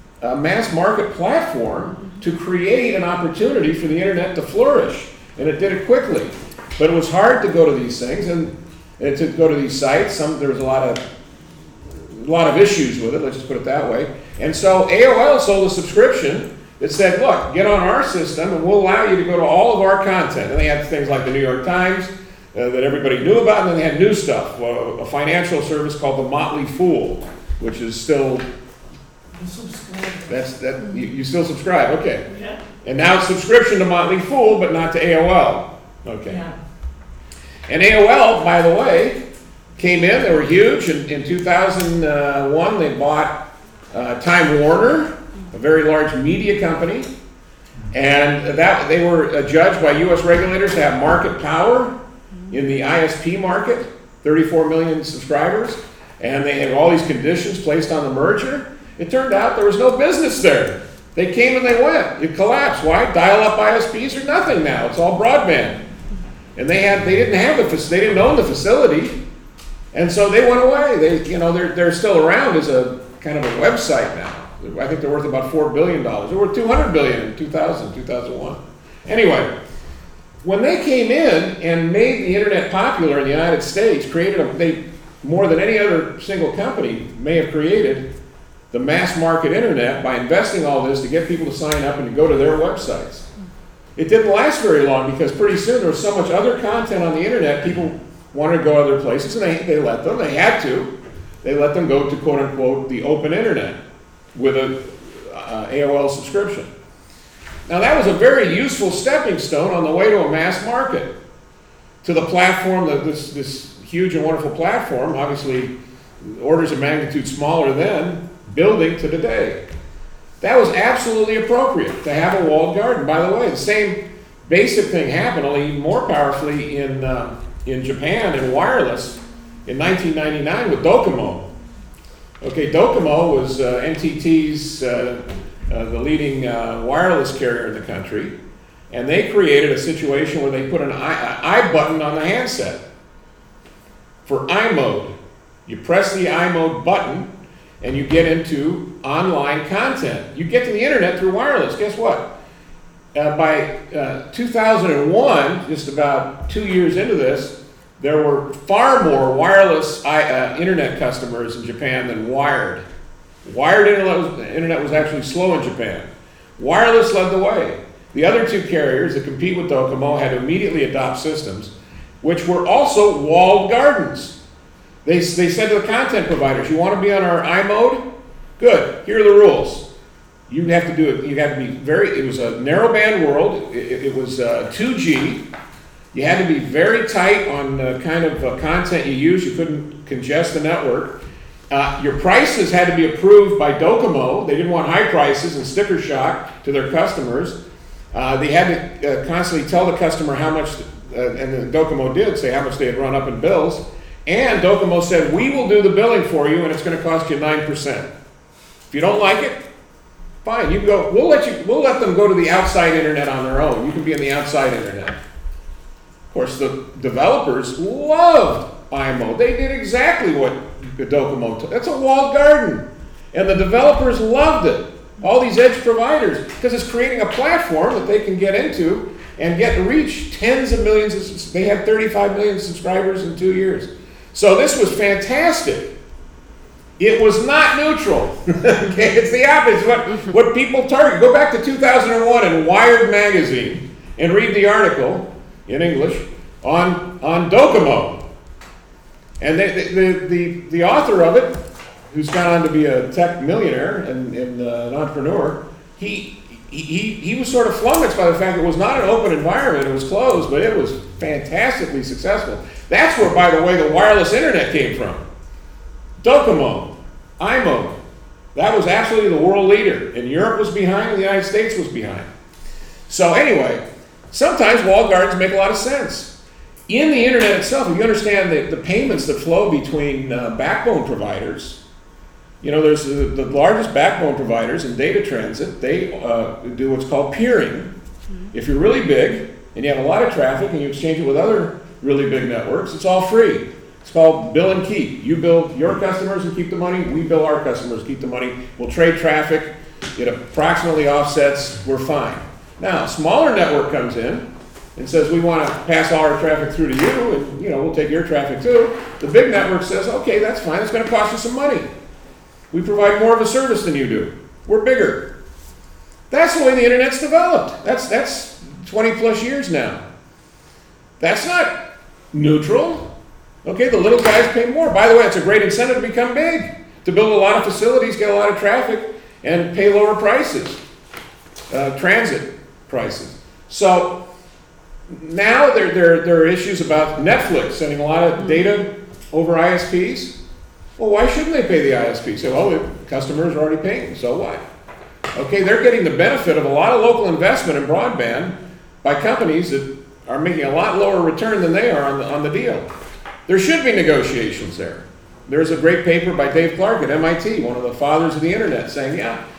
Speaker 1: platform to create an opportunity for the internet to flourish. And it did it quickly. But it was hard to go to these things and to go to these sites. There was a lot of issues with it, let's just put it that way. And so AOL sold a subscription that said, look, get on our system and we'll allow you to go to all of our content. And they had things like the New York Times that everybody knew about, and then they had new stuff, a financial service called The Motley Fool, which is still... You still subscribe, okay.
Speaker 3: Yeah.
Speaker 1: And now it's subscription to Motley Fool, but not to AOL. Okay.
Speaker 3: Yeah.
Speaker 1: And AOL, by the way, came in, they were huge. In 2001, they bought Time Warner, a very large media company. And that they were judged by U.S. regulators to have market power in the ISP market, 34 million subscribers. And they had all these conditions placed on the merger. It turned out there was no business there. They came and they went. It collapsed. Why? Dial-up ISPs are nothing now. It's all broadband. And they didn't own the facility, and so they went away. They're still around as a kind of a website now. I think they're worth about $4 billion. They were $200 billion in 2001. Anyway, when they came in and made the internet popular in the United States, more than any other single company may have created, the mass market internet by investing all this to get people to sign up and to go to their websites. It didn't last very long because pretty soon there was so much other content on the internet, people wanted to go other places, and they let them, they had to. They let them go to quote unquote the open internet with a AOL subscription. Now that was a very useful stepping stone on the way to a mass market, to the platform, this huge and wonderful platform, obviously orders of magnitude smaller then, building to today. That was absolutely appropriate to have a walled garden. By the way, the same basic thing happened, only even more powerfully in Japan in wireless in 1999 with Docomo. Okay, Docomo was NTT's the leading wireless carrier in the country, and they created a situation where they put an I button on the handset for iMode. You press the iMode button and you get into online content. You get to the internet through wireless. Guess what? By 2001, just about 2 years into this, there were far more wireless internet customers in Japan than wired. Wired internet was actually slow in Japan. Wireless led the way. The other two carriers that compete with Docomo had to immediately adopt systems, which were also walled gardens. They said to the content providers, you want to be on our iMode? Good, here are the rules. You have to do it, you have to be it was a narrowband world, it was 2G. You had to be very tight on the kind of content you use. You couldn't congest the network. Your prices had to be approved by Docomo. They didn't want high prices and sticker shock to their customers. They had to constantly tell the customer how much, and then Docomo did say how much they had run up in bills. And Docomo said, we will do the billing for you and it's going to cost you 9%. If you don't like it, fine, you can go, we'll let them go to the outside internet on their own. You can be in the outside internet. Of course, the developers loved iMode. They did exactly what Docomo told. That's a walled garden. And the developers loved it. All these edge providers, because it's creating a platform that they can get into and get to reach tens of millions. They had 35 million subscribers in 2 years. So this was fantastic. It was not neutral. Okay, it's the opposite. What people target. Go back to 2001 in Wired magazine and read the article in English on Docomo. And the author of it, who's gone on to be a tech millionaire and an entrepreneur, he was sort of flummoxed by the fact it was not an open environment, it was closed, but it was fantastically successful. That's where, by the way, the wireless internet came from. Docomo, iMode. That was absolutely the world leader. And Europe was behind, and the United States was behind. So anyway, sometimes walled gardens make a lot of sense. In the internet itself, if you understand the payments that flow between backbone providers, you know, there's the largest backbone providers in data transit. They do what's called peering. If you're really big and you have a lot of traffic and you exchange it with other really big networks, it's all free. It's called bill and keep. You bill your customers and keep the money. We bill our customers, keep the money. We'll trade traffic. It approximately offsets. We're fine. Now, a smaller network comes in and says, we want to pass all our traffic through to you, and we'll take your traffic too. The big network says, okay, that's fine. It's going to cost you some money. We provide more of a service than you do. We're bigger. That's the way the internet's developed. That's 20 plus years now. That's not neutral. Okay, the little guys pay more. By the way, it's a great incentive to become big, to build a lot of facilities, get a lot of traffic, and pay lower prices, transit prices. So now there are issues about Netflix sending a lot of data over ISPs. Well, why shouldn't they pay the ISP? Say, well, the customers are already paying, so what? Okay, they're getting the benefit of a lot of local investment in broadband by companies that are making a lot lower return than they are on the deal. There should be negotiations there. There's a great paper by Dave Clark at MIT, one of the fathers of the internet, saying,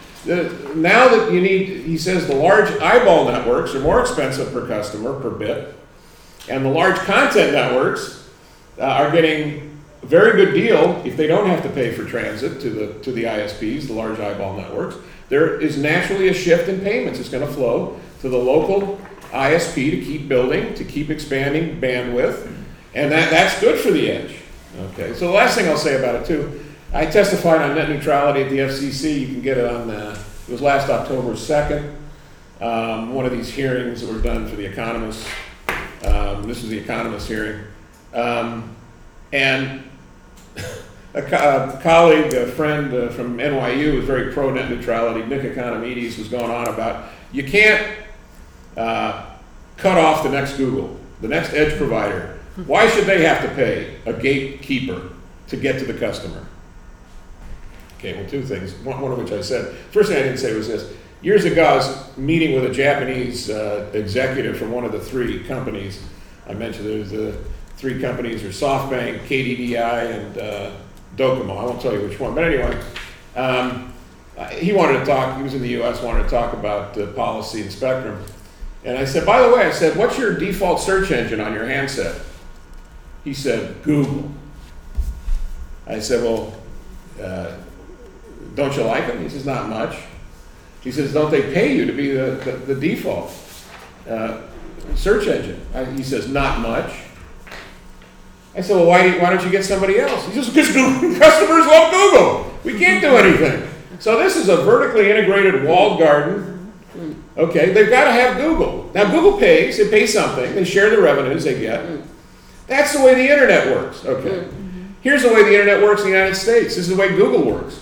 Speaker 1: now that he says the large eyeball networks are more expensive per customer, per bit, and the large content networks are getting a very good deal if they don't have to pay for transit to the ISPs, the large eyeball networks. There is naturally a shift in payments. It's going to flow to the local ISP to keep building, to keep expanding bandwidth, and that's good for the edge. Okay, so the last thing I'll say about it too, I testified on net neutrality at the FCC. You can get it on, it was last October 2nd. One of these hearings that were done for The Economist. This was The Economist hearing. And a colleague, a friend from NYU who was very pro net neutrality, Nick Economides, was going on about you can't cut off the next Google, the next edge provider. Why should they have to pay a gatekeeper to get to the customer? Okay, well, two things, one of which I said. First thing I didn't say was this. Years ago, I was meeting with a Japanese executive from one of the three companies. I mentioned there's the three companies are SoftBank, KDDI, and Docomo. I won't tell you which one, but anyway, he wanted to talk, he was in the US, wanted to talk about policy and spectrum. And I said, by the way, I said, what's your default search engine on your handset? He said, Google. I said, well, don't you like them? He says, not much. He says, don't they pay you to be the default search engine? He says, not much. I said, well, why don't you get somebody else? He says, because customers love Google. We can't do anything. So this is a vertically integrated walled garden. Okay, they've got to have Google. Now, Google pays. They pay something. They share the revenues they get. That's the way the internet works. Okay. Here's the way the internet works in the United States. This is the way Google works.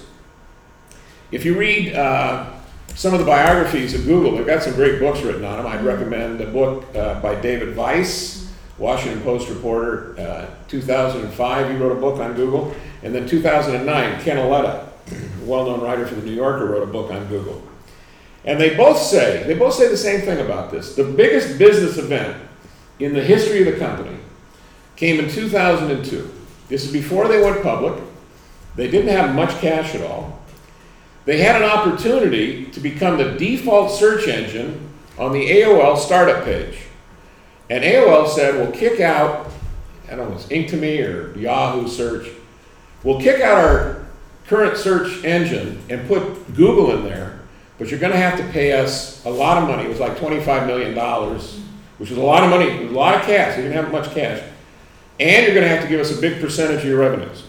Speaker 1: If you read some of the biographies of Google, they've got some great books written on them. I'd recommend a book by David Weiss, Washington Post reporter, 2005, he wrote a book on Google. And then 2009, Ken Auletta, a well-known writer for The New Yorker, wrote a book on Google. And they both say the same thing about this. The biggest business event in the history of the company came in 2002. This is before they went public. They didn't have much cash at all. They had an opportunity to become the default search engine on the AOL startup page. And AOL said, we'll kick out, I don't know, it's Inktomi or Yahoo search. We'll kick out our current search engine and put Google in there, but you're going to have to pay us a lot of money. It was like $25 million, which was a lot of money. It was a lot of cash. You didn't have much cash. And you're going to have to give us a big percentage of your revenues.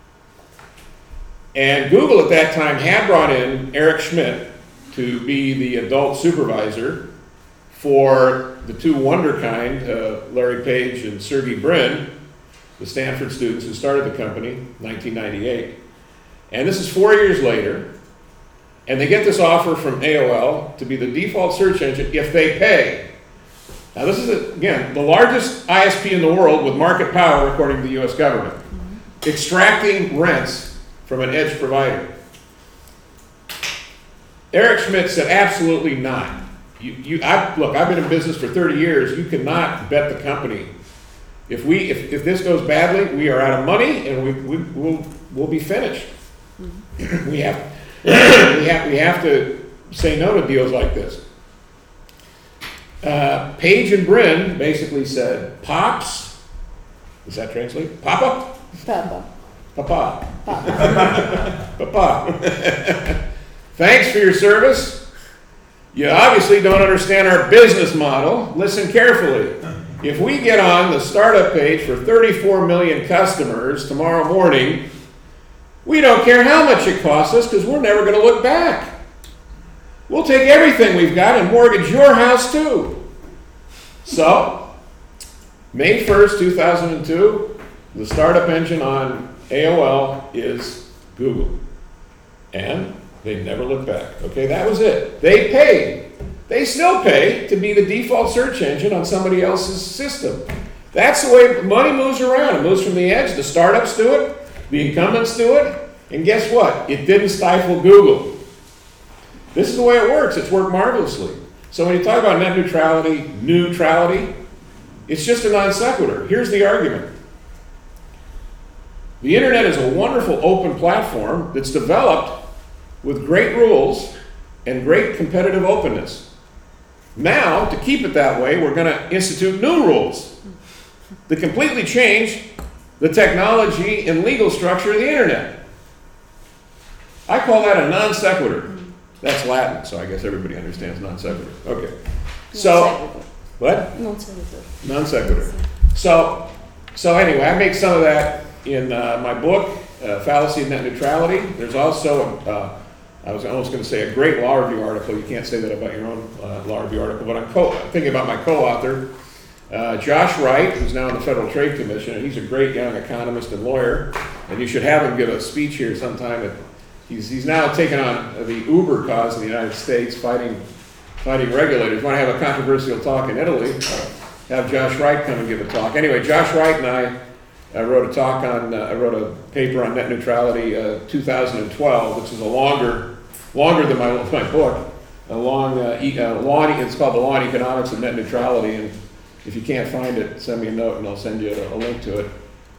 Speaker 1: And Google at that time had brought in Eric Schmidt to be the adult supervisor for the two wonderkind, Larry Page and Sergey Brin, the Stanford students who started the company in 1998. And this is 4 years later, and they get this offer from AOL to be the default search engine if they pay. Now this is, again, the largest ISP in the world with market power according to the US government, extracting rents from an edge provider. Eric Schmidt said, absolutely not. Look, I've been in business for 30 years. You cannot bet the company. If this goes badly, we are out of money and we'll be finished. we have to say no to deals like this. Page and Brin basically said, Pops, does that translate? Papa?
Speaker 2: Papa.
Speaker 1: Papa. Papa. Thanks for your service. You obviously don't understand our business model. Listen carefully. If we get on the startup page for 34 million customers tomorrow morning, we don't care how much it costs us because we're never going to look back. We'll take everything we've got and mortgage your house too. So, May 1st, 2002, the startup engine on AOL is Google. And they never looked back. Okay, that was it. They paid. They still pay to be the default search engine on somebody else's system. That's the way money moves around. It moves from the edge. The startups do it. The incumbents do it. And guess what? It didn't stifle Google. This is the way it works. It's worked marvelously. So when you talk about net neutrality, it's just a non sequitur. Here's the argument. The internet is a wonderful open platform that's developed with great rules and great competitive openness. Now, to keep it that way, we're going to institute new rules that completely change the technology and legal structure of the internet. I call that a non sequitur. That's Latin, so I guess everybody understands non sequitur. Okay. So, what?
Speaker 2: Non sequitur.
Speaker 1: Non sequitur. So anyway, I make some of that in my book. fallacy of net neutrality. There's also, I was almost going to say, a great law review article. You can't say that about your own law review article, but I'm thinking about my co-author, Josh Wright, who's now in the Federal Trade Commission, and he's a great young economist and lawyer, and you should have him give a speech here sometime. He's now taken on the Uber cause in the United States, fighting regulators. Want to have a controversial talk in Italy? Have Josh Wright come and give a talk. Anyway, Josh Wright and I wrote a paper on net neutrality 2012, which is longer than my book. It's called The Law and Economics of Net Neutrality, and if you can't find it, send me a note and I'll send you a link to it.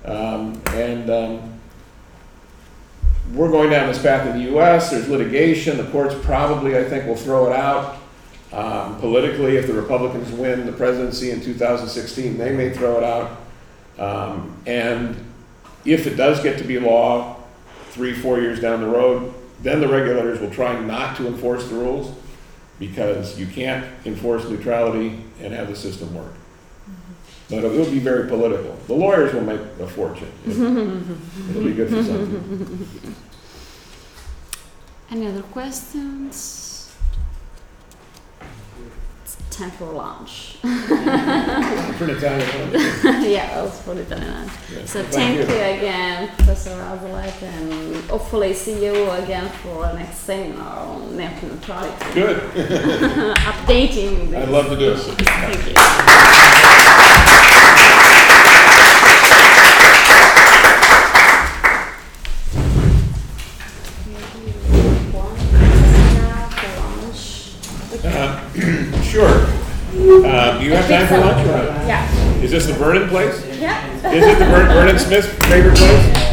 Speaker 1: We're going down this path in the U.S. There's litigation. The courts probably, I think, will throw it out. Politically, if the Republicans win the presidency in 2016, they may throw it out. And if it does get to be law 3-4 years down the road, then the regulators will try not to enforce the rules, because you can't enforce neutrality and have the system work. But it will be very political. The lawyers will make a fortune. It'll be good for some people.
Speaker 2: Any other questions? It's time for lunch.
Speaker 1: For an Italian one.
Speaker 2: Yeah, also for Italian.
Speaker 1: Yeah.
Speaker 2: So
Speaker 1: Thank
Speaker 2: thank
Speaker 1: you.
Speaker 2: you again, Professor Azoulay, and hopefully see you again for the next seminar on net neutrality.
Speaker 1: Good.
Speaker 2: Updating the
Speaker 1: I'd love to do it.
Speaker 2: issues. Thank you.
Speaker 1: Sure. Do you have time for lunch? Or not?
Speaker 2: Yeah.
Speaker 1: Is this the Vernon place?
Speaker 2: Yeah.
Speaker 1: Is it the Vernon Smith's favorite place?